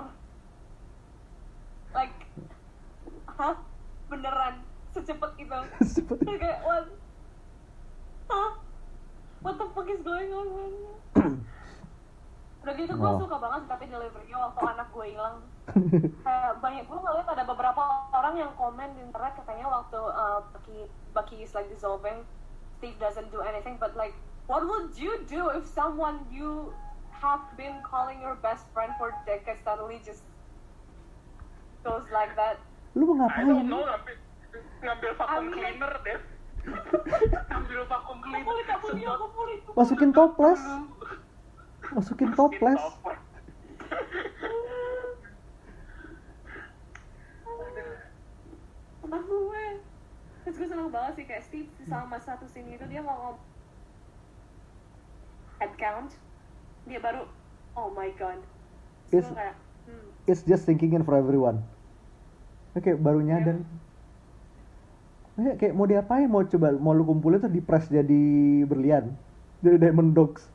Like, hah? Beneran? Secepat itu? Kayak, what? Hah? What the fuck is going on? Udah gitu gue suka banget tapi delivery-nya waktu anak gue hilang. Kayak banyak, gue ngeliat ada beberapa orang yang komen di internet katanya waktu Bucky is like dissolving, Steve doesn't do anything, but like, what would you do if someone you have been calling your best friend for decades suddenly just goes like that? Lu mau I don't ngapain? know, ngambil vacuum cleaner deh. Ngambil vacuum cleaner. Masukin toples. Anak gue. Terus gue seneng banget sih kayak Steve sama satu scene itu dia ngomong head count, dia baru oh my god. Terus gue kayak It's just thinking in for everyone. Oke, baru nyadar. Kayak mau diapain? Mau lu kumpulin tuh di press jadi berlian, jadi diamond dogs.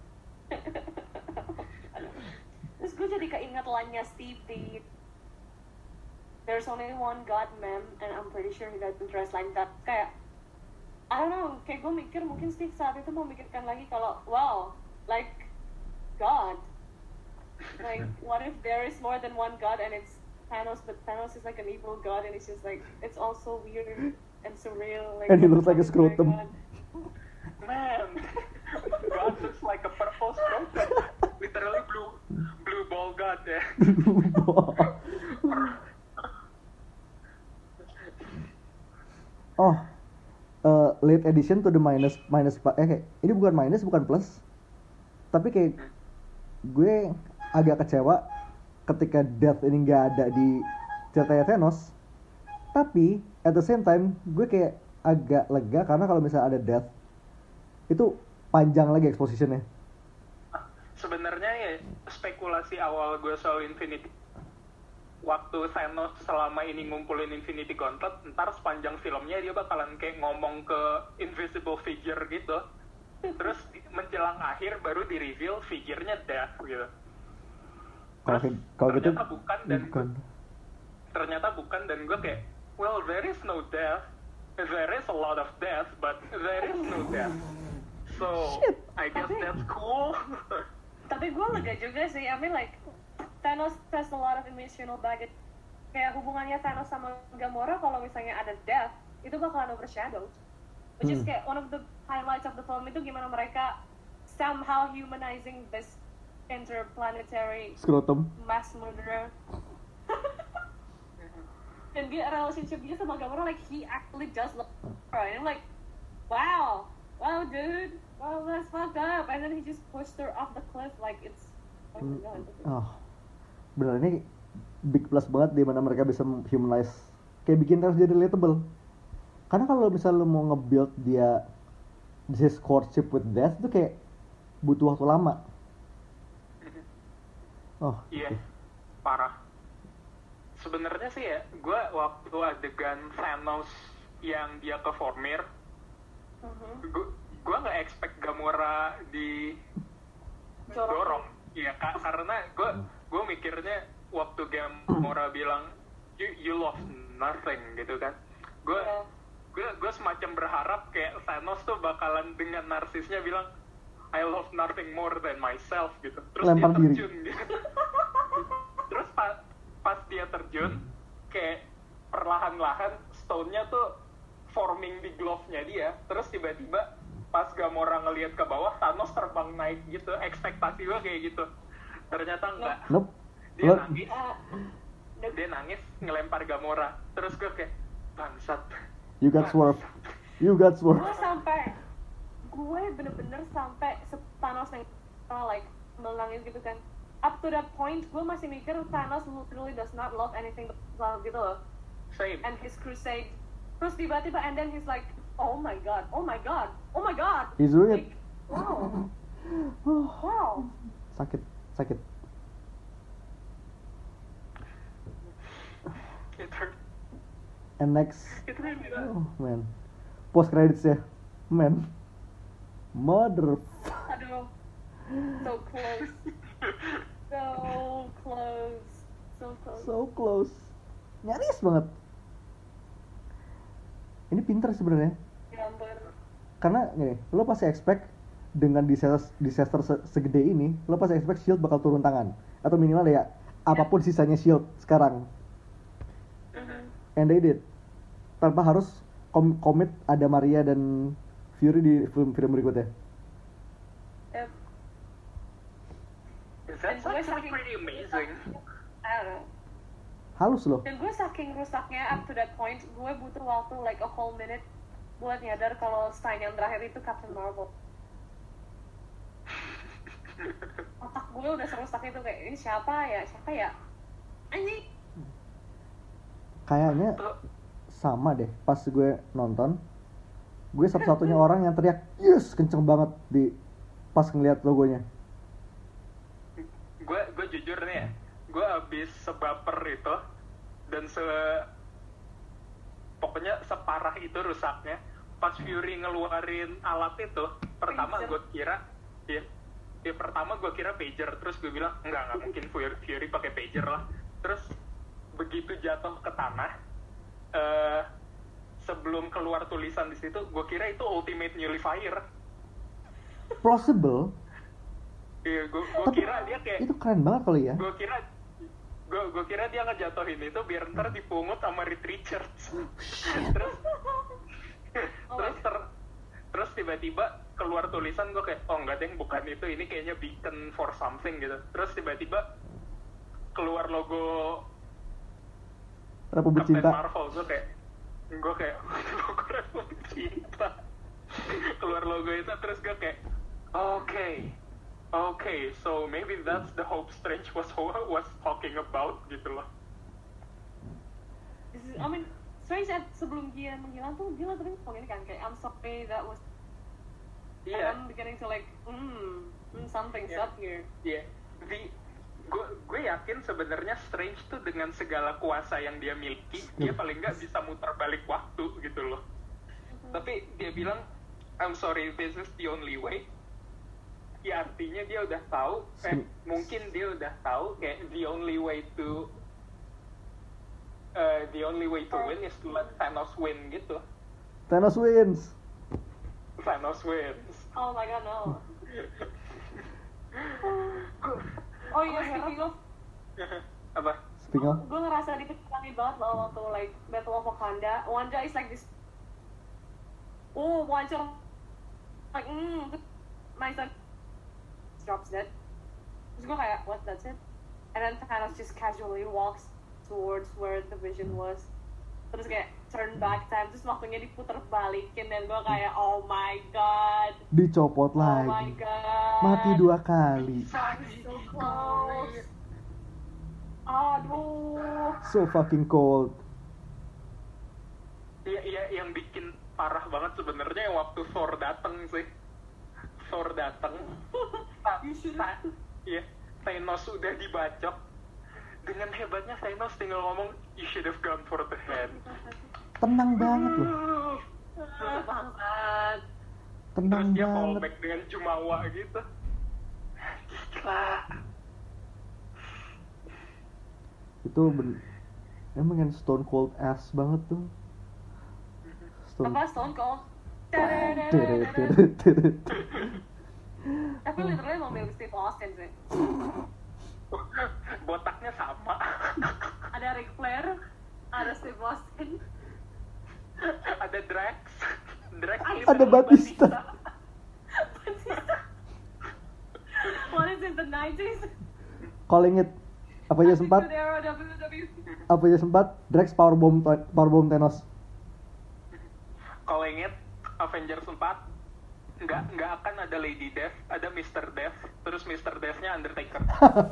Terus gue jadi keinget line-nya Steve di There's only one God, man, and I'm pretty sure he doesn't dress like that. Kayak, I don't know, kayak gue mikir mungkin Steve saat itu mau mikirkan lagi kalau, wow, like, God. Like, what if there is more than one God and it's Thanos, but Thanos is like an evil God and it's just like, it's all so weird and surreal. Like, And he looks like a scrotum. Man, God looks like a purple scrotum. Literally blue ball God ya. Late edition to the minus kayak ini bukan minus, bukan plus, tapi kayak gue agak kecewa ketika Death ini nggak ada di ceritanya Thanos. Tapi at the same time gue kayak agak lega karena kalau misalnya ada Death itu panjang lagi expositionnya. Sebenarnya ya spekulasi awal gue soal Infinity, waktu Thanos selama ini ngumpulin Infinity Gauntlet, ntar sepanjang filmnya dia bakalan kayak ngomong ke invisible figure gitu, terus menjelang akhir baru di reveal figurnya Death gitu. Kalau gitu ternyata bukan dan gue kayak, well, there is no death, there is a lot of death, but there is no death, so I guess that's cool. Tapi gue lega juga sih, I mean like Thanos has a lot of emotional baggage. Kayak hubungannya Thanos sama Gamora kalau misalnya ada Death, itu bakalan overshadowed. Which is kayak one of the highlights of the film itu gimana mereka somehow humanizing this interplanetary scrotum mass murderer. Dan dia relationship dia sama Gamora, like he actually does love her. And I'm like, wow, dude, wow, that's fucked up. And then he just pushed her off the cliff like it's oh my god. Bener, ini big plus banget di mana mereka bisa humanize, kayak bikin Thanos jadi relatable. Karena kalau misalnya lu mau nge-build dia this courtship with Death itu kayak butuh waktu lama. Iya, parah. Sebenarnya sih ya, gue waktu adegan Thanos yang dia ke Vormir, gue nggak expect Gamora di dorong. Iya, karena gue mikirnya waktu Gamora bilang you lost nothing gitu kan. Gue semacam berharap kayak Thanos tuh bakalan dengan narsisnya bilang I love nothing more than myself gitu. Terus Lempar dia diri. terjun gitu. Terus pas dia terjun kayak perlahan-lahan stone-nya tuh forming di glove-nya dia. Terus tiba-tiba pas Gamora ngelihat ke bawah, Thanos terbang naik gitu. Ekspektasi gue kayak gitu. Ternyata enggak. Nope. Dia Lo- nangis. Dia nangis ngelempar Gamora. Terus gue kayak bangsat. You got swerve. You got swerve. Gue bener-bener sampai Thanos yang like menangis gitu kan. Up to that point, gue masih mikir Thanos literally does not love anything but love gitu loh. Same. And his crusade. Terus tiba-tiba and then he's like, oh my god, oh my god, oh my god. He's doing it. Like, wow. Wow. Sakit. It hurt. And next, It really does. oh man, post credits ya, man, mother. Aduh. So close. So close. So close. So close, nyaris banget. Ini pinter sebenarnya, Ya ampun. karena gini, lo pasti expect dengan disaster segede ini, lo pasti expect Shield bakal turun tangan, atau minimal ya apapun sisanya Shield sekarang. And they did, tanpa harus komit ada Maria dan Fury di film berikutnya. Yep. That's And gue actually saking- pretty amazing. I don't know. Halus loh. Dan gue saking rusaknya up to that point, gue butuh waktu like a whole minute buat nyadar kalau sign yang terakhir itu Captain Marvel. Otak gue udah serusak itu kayak ini siapa ya? Anjing. Kayaknya sama deh, pas gue nonton, gue satu-satunya orang yang teriak yes kenceng banget di pas ngeliat logonya. Gue jujur nih ya, gue abis sebaper itu dan pokoknya separah itu rusaknya. Pas Fury ngeluarin alat itu, pertama Pager. gue kira pertama gue kira pager, terus gue bilang nggak mungkin Fury pakai pager lah. Terus begitu jatuh ke tanah, sebelum keluar tulisan di situ, gue kira itu Ultimate Nullifier. Plausible. Iya, gue Tapi kira dia kayak itu keren banget kali ya. gue kira dia ngejatuhin itu biar ntar dipungut sama Reed Richards. terus tiba-tiba keluar tulisan, gue kayak oh enggak deh, bukan itu, ini kayaknya beacon for something gitu. Terus tiba-tiba keluar logo Republik Captain Cinta. Marvel, gue kayak logo Republik Cinta. Keluar logo itu, terus gue kayak okay, so maybe that's the Hope Strange was talking about gitu loh. I mean, Strange sebelum dia menghilang tuh dia lagi ngomong ini kan kayak I'm sorry that was. Iya. I'm beginning to like something's Yeah. up here. Iya. Gue yakin sebenarnya Strange tuh dengan segala kuasa yang dia miliki, dia paling nggak bisa muter balik waktu gitu loh. Tapi dia bilang I'm sorry, this is the only way. Ya artinya dia udah tahu, mungkin dia udah tahu kayak the only way to win is to let Thanos win gitu. Thanos wins. Thanos wins. Oh my god, no. Oh iya, speaking of, Apa? Speaking of, gue ngerasa dipecahkan banget loh waktu like Battle of Wakanda. Wanda is like this. Oh, Wanda like my son drops dead. Terus gue kayak what, that's it? And then Thanos just casually walks towards where the Vision was. Terus kayak turn back time, terus waktunya diputer balikin dan gue kayak oh my god. dicopot Oh my lagi. god. Mati 2 kali. So close. Aduh. So fucking cold. Iya, yang bikin parah banget sebenarnya yang waktu Thor dateng sih. Thor dateng. Iya, Thanos udah dibacok. Dengan hebatnya Thanos tinggal ngomong, you should have gone for the head. Tenang banget loh. Bangsat. Tenang Terus dia banget. fallback dengan jumawa gitu. Gila. Itu emang kan Stone Cold ass banget tuh. Apa Stone Cold? Tapi literally mau milih Steve Austin sih. Botaknya sama. Ada Ric Flair, ada Steve Austin, Ada Drax. Ada Batista. What is in the 90s? Calling it. Apa aja sempat? Good era WWE. Apa aja sempat? Drax powerbomb Thanos. Kalau inget Avengers 4 nggak akan ada Lady Death, ada Mr. Death, terus Mr. Death-nya Undertaker.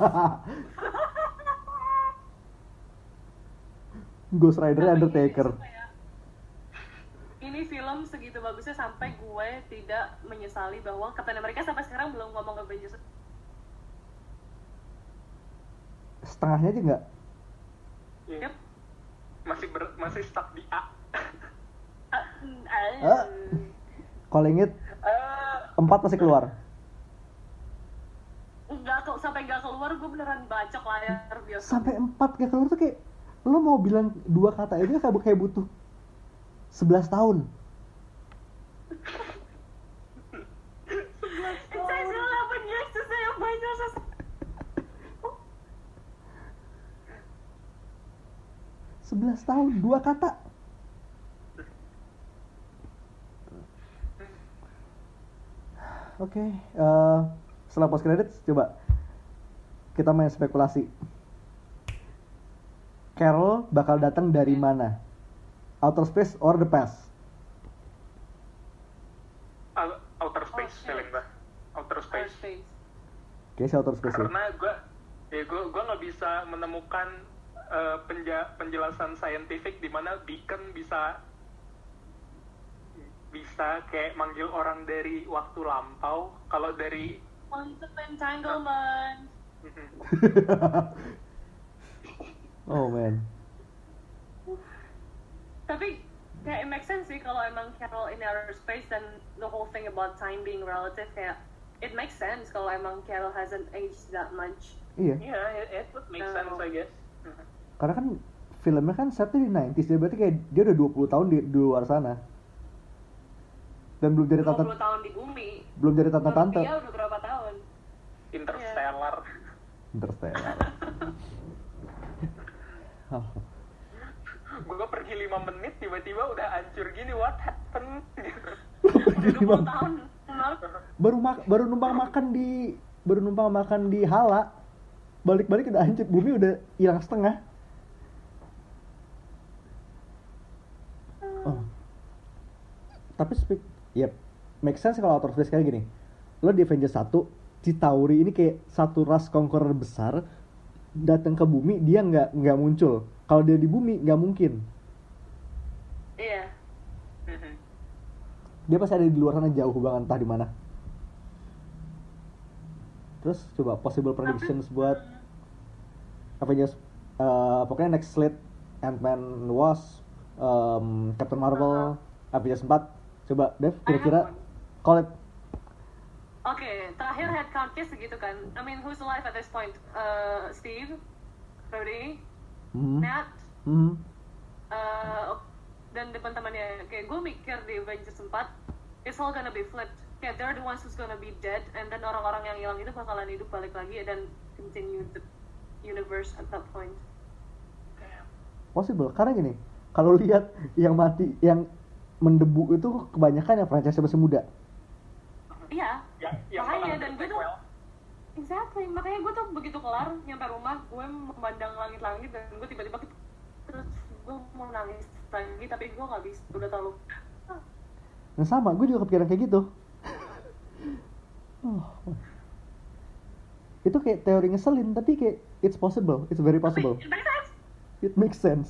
Ghost Rider Undertaker. Ini film segitu bagusnya sampai gue tidak menyesali bahwa Captain America sampai sekarang belum ngomong Avengers. Setengahnya aja nggak? Yep. Masih stuck di A. Kalau inget 4 masih keluar. Sampai nggak keluar gue beneran bacok layar bioskop. Sampai 4 gak keluar tuh kayak lo mau bilang 2 kata aja kayak butuh 11 tahun. It takes 11 years to say Avengers. 11 tahun, 2 kata. Oke, setelah post credits coba kita main spekulasi. Carol bakal datang dari mana? Outer space or the past? Outer Space feeling gue. Outer Space. Kayaknya outer space ya. Karena gue nggak bisa menemukan penjelasan saintifik di mana beacon bisa kayak manggil orang dari waktu lampau. Kalau dari Quantum entanglement. Oh man. Tapi kayak it makes sense sih kalau emang Carol in outer space dan the whole thing about time being relative, kayak it makes sense kalau emang Carol hasn't aged that much. Iya. Yeah, it would make sense I guess. Karena kan filmnya kan setnya di 90s, dia berarti kayak dia udah 20 tahun di luar sana. Dan belum jadi 20 tahun di bumi. Belum jadi tante-tante. Dia udah berapa tahun? Interstellar. Interstellar. Oh. Gue pergi 5 menit tiba-tiba udah hancur gini, what happened? 20 tahun. Baru numpang makan di Hala. Balik-balik udah hancur, bumi udah hilang setengah. Oh. Tapi make sense kalau outer space kayak gini. Lo di Avengers 1, Chitauri ini kayak satu ras conqueror besar datang ke bumi, dia nggak muncul. Kalau dia di bumi nggak mungkin. Iya. Dia pasti ada di luar sana jauh banget, entah di mana. Terus coba possible predictions buat Avengers, pokoknya next slate Ant-Man, Wasp, Captain Marvel, Avengers 4. Coba Dev, kira-kira call it. Oke, terakhir head count-nya segitu kan. I mean, who's alive at this point? Steve, Brody, Nat, dan teman-temannya. Kayak gue mikir di Avengers 4, it's all gonna be flipped. Kayak they're the ones who's gonna be dead, and then orang-orang yang hilang itu bakalan hidup balik lagi dan continue the universe at that point. Possible, karena gini, kalau lihat yang mati, yang mendebu itu kebanyakan yang franchise masih muda. Iya, yang makanya bakal dan gue tuh exactly, makanya gue tuh begitu kelar nyampe rumah, gue memandang langit-langit dan gue tiba-tiba terus gue mau nangis lagi tapi gue nggak bisa, udah terlalu. Nah sama, gue juga kepikiran kayak gitu. Itu kayak teori ngeselin, tapi kayak it's possible, it's very possible. It makes sense. It makes sense.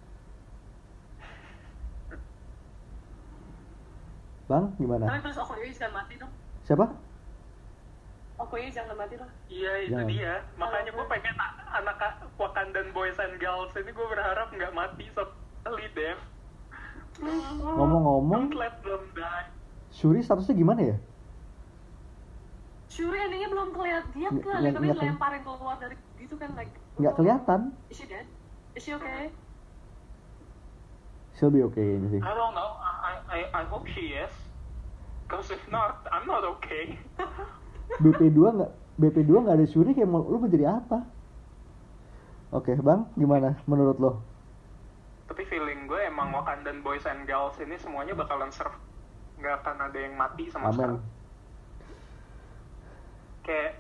Bang, gimana? Tapi terus Okoye jangan mati dong. Siapa? Okoye jangan mati dong. Iya, itu Jangan. dia. Makanya gue pengen anak Wakandan Boys and Girls ini gue berharap nggak mati sekali, Dev. Ngomong-ngomong, Don't let them die. Shuri statusnya gimana ya? Shuri endingnya belum kelihatan, dia Nggak kelihatan tapi kelihatan. dilemparin keluar dari gitu kan, like nggak kelihatan. Is she dead? Is she okay? She'll be okay ini sih. I don't know. I hope she is. Cause if not, I'm not okay. BP2 nggak ada Shuri, kayak lu mau jadi apa? Oke, Bang, gimana menurut lo? Tapi feeling gue emang Wakandan Boys and Girls ini semuanya bakalan survive. Nggak akan ada yang mati sama sekali. Amin. Kayak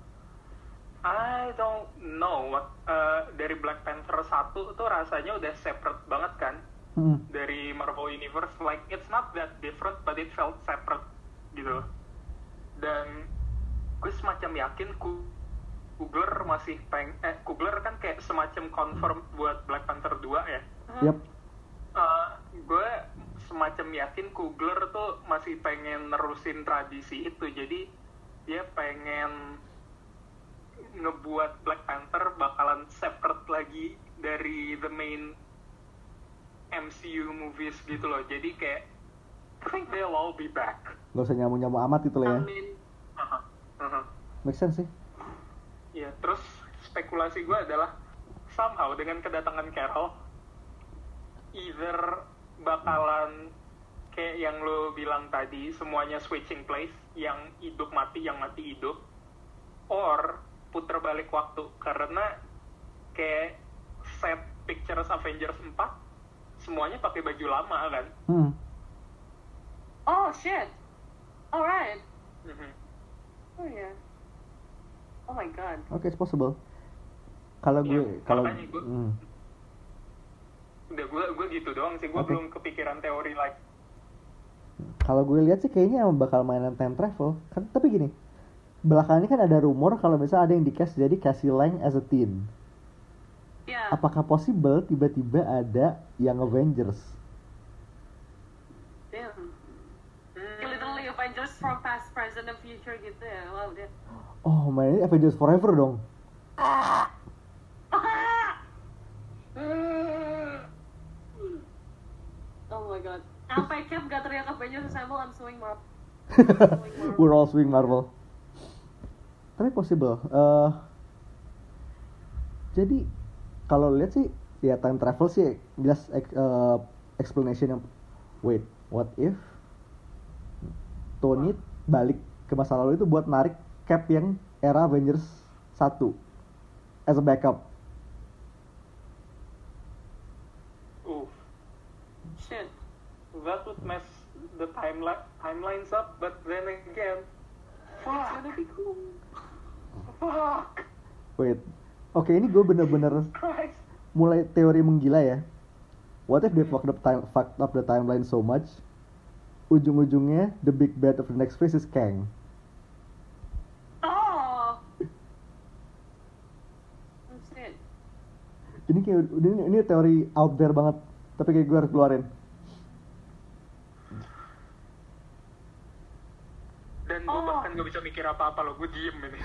I don't know what dari Black Panther 1 tuh rasanya udah separate banget kan dari Marvel Universe, like it's not that different but it felt separate gitu. Dan gue semacam yakin Coogler masih Coogler kan kayak semacam confirm buat Black Panther 2 ya. Yep. Gue semacam yakin Coogler tuh masih pengen nerusin tradisi itu, jadi dia pengen ngebuat Black Panther bakalan separate lagi dari the main MCU movies gitu loh. Jadi kayak I think they'll all be back. Gak usah nyamu-nyamu amat gitu lah ya. Amin. Make sense sih. Ya, terus spekulasi gue adalah somehow dengan kedatangan Carol either bakalan kayak yang lo bilang tadi, semuanya switching place, yang hidup mati, yang mati hidup, or puter balik waktu, karena kayak set pictures Avengers 4 semuanya pakai baju lama kan. Oh shit. Alright. Mhm. Oh yeah. Oh my god. Oke, it's possible. Kalau Iya, gue makanya gue gitu doang sih, gue Oke. belum kepikiran teori like. Kalau gue lihat sih kayaknya emang bakal mainan time travel. Kan tapi gini, belakangan ini kan ada rumor kalau misalnya ada yang di-cast jadi Cassie Lang as a teen. Yeah. Apakah possible tiba-tiba ada yang Avengers? Damn. Literally Avengers from past, present, and future gitu ya. Wow, dia. Oh, mainnya Avengers Forever dong. Oh my god. Sampai Cap gak teriak Avengers Assemble, I'm suing Marvel. We're all swing Marvel. Tapi possible. Jadi kalau lihat sih ya time travel sih jelas explanation yang wait, what if Tony balik ke masa lalu itu buat narik Cap yang era Avengers 1 as a backup. Shit. That would mess the timelines up, but then again, It's gonna be cool. fuck, Wait. Oke, ini gue bener-bener Christ. mulai teori menggila ya. What if they fucked up the timeline so much? Ujung-ujungnya the big bad of the next phase is Kang. Oh! Oh shit. Ini kayak ini teori out there banget, tapi kayak gue harus keluarin. Dan gue bahkan gak bisa mikir apa-apa loh, gue diem ini.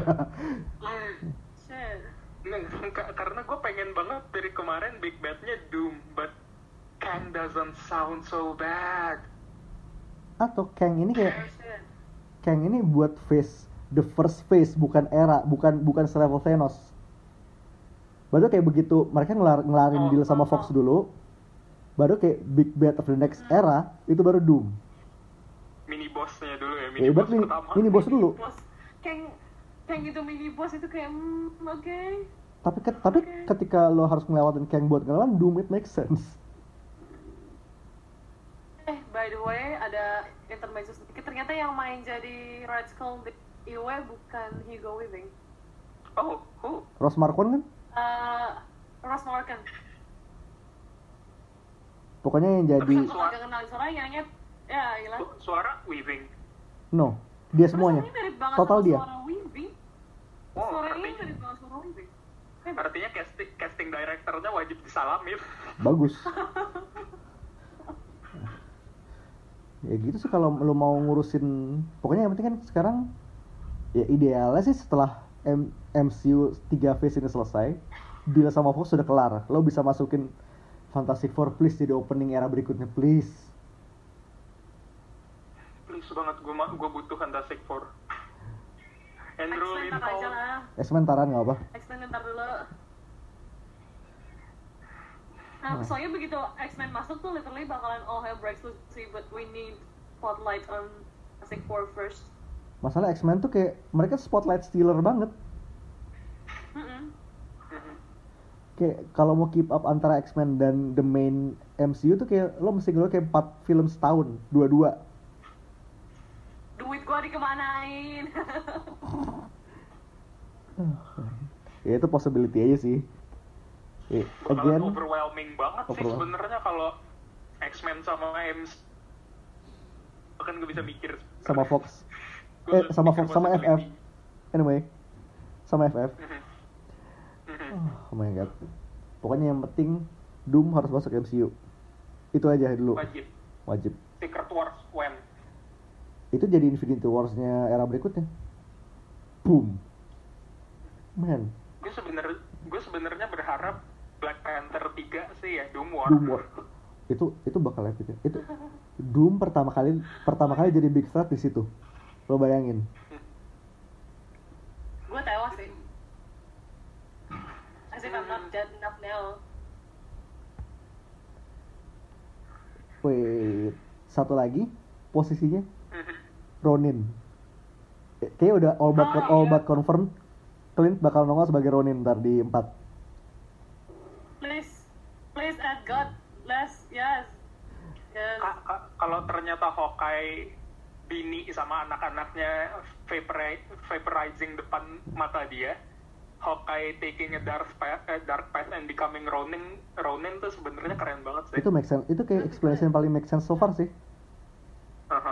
Shit. Karena gue pengen banget dari kemarin big badnya Doom, but Kang doesn't sound so bad. Atau Kang ini Oh kayak shit. Kang ini buat phase, the first phase, bukan era, bukan selevel Thanos. Baru kayak begitu mereka ngelarin deal sama Fox dulu, baru kayak big bad of the next era itu baru Doom. Mini bossnya dulu ya, Ya mini ibarat boss pertama. ini bos dulu. Bos. Kang itu mini boss itu kayak oke. Tapi ketika lo harus ngelewatin Kang buat ngelawan Doom, it makes sense. By the way, ada intermezzo sedikit. Ternyata yang main jadi Red Skull di IW bukan Hugo Weaving. Oh, who? Ross Marquand kan? Ross Morgan. Pokoknya yang jadi Kalau gak kenal suaranya, ya gila. Suara Weaving. no, dia semuanya. Suaranya mirip banget Total sama dia. suara Weaving. Oh, Suaranya artinya, mirip banget suara Weaving. artinya casting directornya wajib disalamin. Bagus. Ya gitu sih kalau lo mau ngurusin, pokoknya yang penting kan sekarang ya idealnya sih setelah MCU 3 phase ini selesai, deal sama Fox sudah kelar, lo bisa masukin Fantastic Four please jadi opening era berikutnya please. Please banget, gue butuh Fantastic Four. Andrew X-Men ntar aja Lincoln. lah. X-Men taran nggak apa? X-Men ntar dulu. Nah, soalnya begitu X-Men masuk tuh literally bakalan all hell breaks loose sih, but we need spotlight on Fantastic Four first. Masalah X-Men tuh kayak mereka spotlight stealer banget. Kayak kalau mau keep up antara X-Men dan the main MCU tuh kayak lo mesti gue kayak 4 film setahun, dua-dua. Duit gua dikemanain? Ya itu possibility aja sih. Bakalan Again, overwhelming banget sih sebenarnya kalau X-Men sama MC. Bahkan gak bisa mikir. sama Fox. Gua Sama mikir Fox sama FF. possibility. Anyway, sama FF. Mhm. Oh my god. Pokoknya yang penting Doom harus masuk MCU. Itu aja dulu. Wajib. Secret Wars when? Itu jadi Infinity Wars-nya era berikutnya. Boom. Man, Gue sebenarnya berharap Black Panther 3 sih ya, Doom War. Doom War. Itu bakal epic. Itu Doom pertama kali jadi big threat di situ. Lo bayangin. Gua tewas sih. As if I'm not dead enough now. Wait, satu lagi posisinya Ronin. Kayaknya udah all but confirmed. Clint bakal nongol sebagai Ronin ntar di 4. Please add God. Yes. Kalau ternyata Hawkeye bini sama anak-anaknya vaporizing depan mata dia, Hawkeye taking a dark path and becoming Ronin tuh sebenarnya keren banget sih. Itu make sense. Itu kayak explanation paling make sense so far sih. Aha.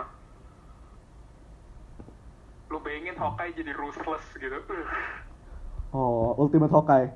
Lu bayangin Hawkeye jadi ruthless gitu. Oh, Ultimate Hawkeye.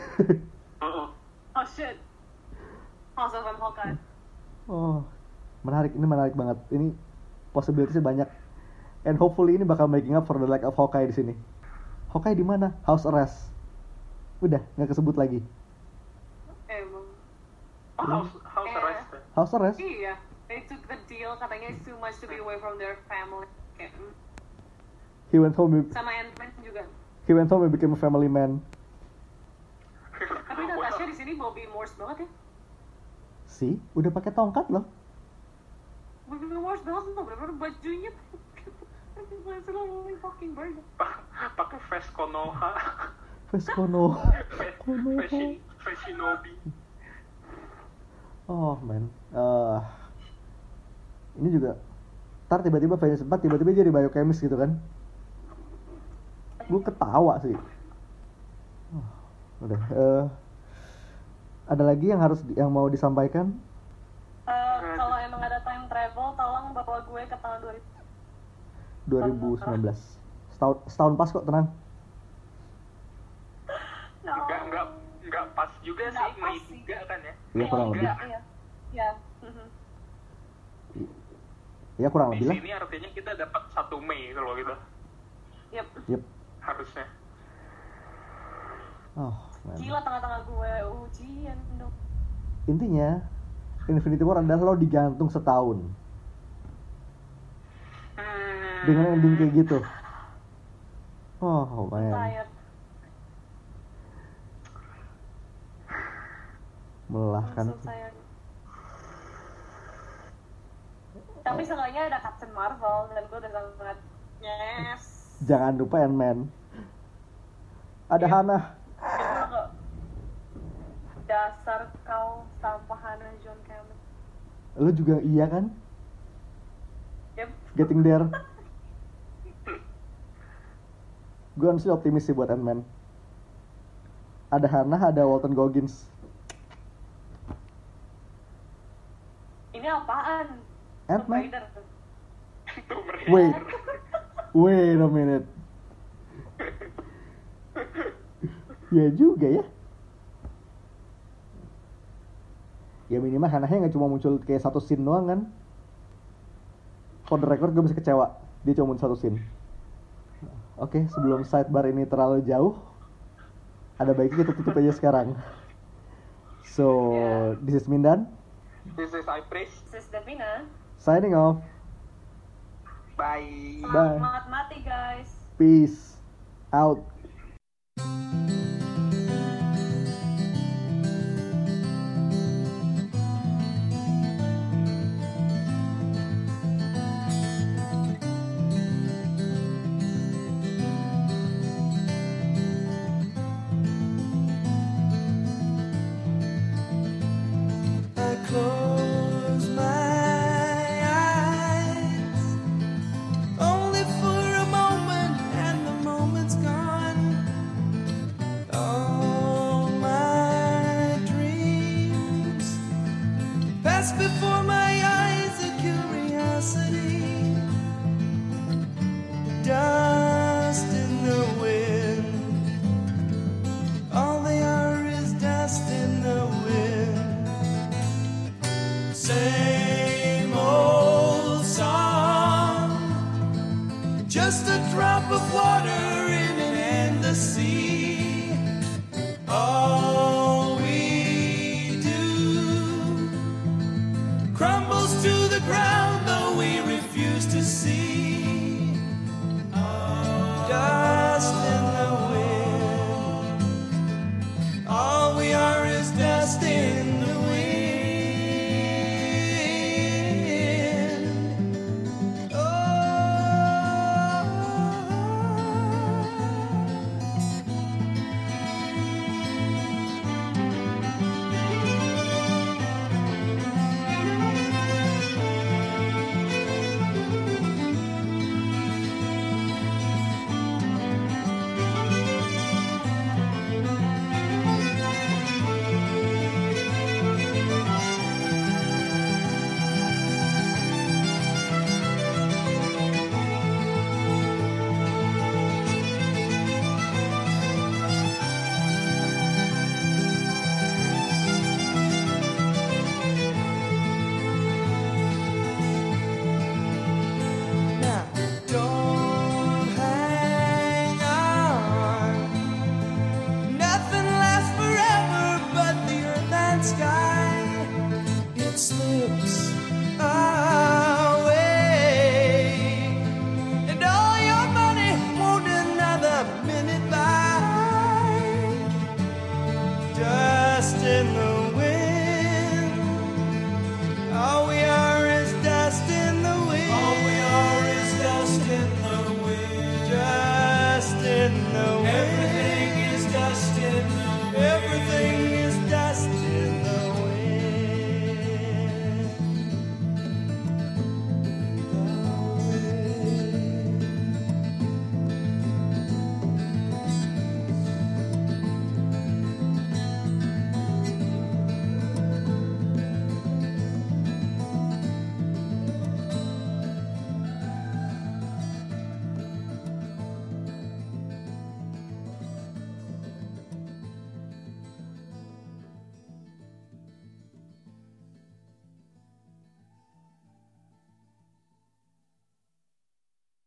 Oh shit. Also from Hawkeye. Oh, menarik. Ini menarik banget. Ini possibilities banyak. And hopefully ini bakal making up for the lack of Hawkeye di sini. Hawkeye di mana? House arrest. Udah, nggak kesebut lagi. Emang. House arrest. House arrest? Iya. They took the deal, katanya it's too much to be away from their family. Kayak, He went home. sama Ant-Man juga. He went home and became a family man. Tapi Natasha di sini Bobby Morse banget ya. See, udah pakai tongkat loh. Bobby Morse banget loh, bener-bener bajunya. It's a fucking bird. Pakai vest Konoha. Vest Konoha. Fashinobi. Oh man. Ini juga. Ntar tiba-tiba Avengers 4 tiba-tiba jadi biochemist gitu kan. Gue ketawa sih. Udah. Ada lagi yang mau disampaikan? Kalau emang ada time travel, tolong bawa gue ke tahun 2019. Setahun pas kok, tenang. No. Enggak pas juga Nggak sih, pas Mei sih. 3 kan ya. Iya, kurang lebih. Iya. Ya kurang Di lebih lah. sini artinya kita dapat 1 Mei kalau gitu. Yep. Harusnya. Oh, man. Gila tengah-tengah gue ujian dong. Intinya Infinity War adalah lo digantung setahun dengan ending kayak gitu. Oh man, Tired. melelahkan. I'm so tired. Tapi seenggaknya ada Captain Marvel dan gue udah sangat yes. Jangan lupa Ant-Man. Ada Yep. Hannah. Gue nggak dasar kau sampah Hannah John Cameron. Lo juga iya kan? Yep. Getting there. Gue honestly optimis sih buat Ant-Man. Ada Hannah, ada Walton Goggins. Ini apaan? Ant-Man? Tomb Raider. Wait a minute. Ya juga ya. Ya minimal Hannah-nya nggak cuma muncul kayak satu scene doang kan. For the record gue bisa kecewa. Dia cuma muncul satu scene. Oke, sebelum sidebar ini terlalu jauh, ada baiknya kita tutup aja sekarang. So, this is Mindan. This is Ipris. This is Davina. Signing off. Bye. Bye. Selamat mati guys. Peace. Out.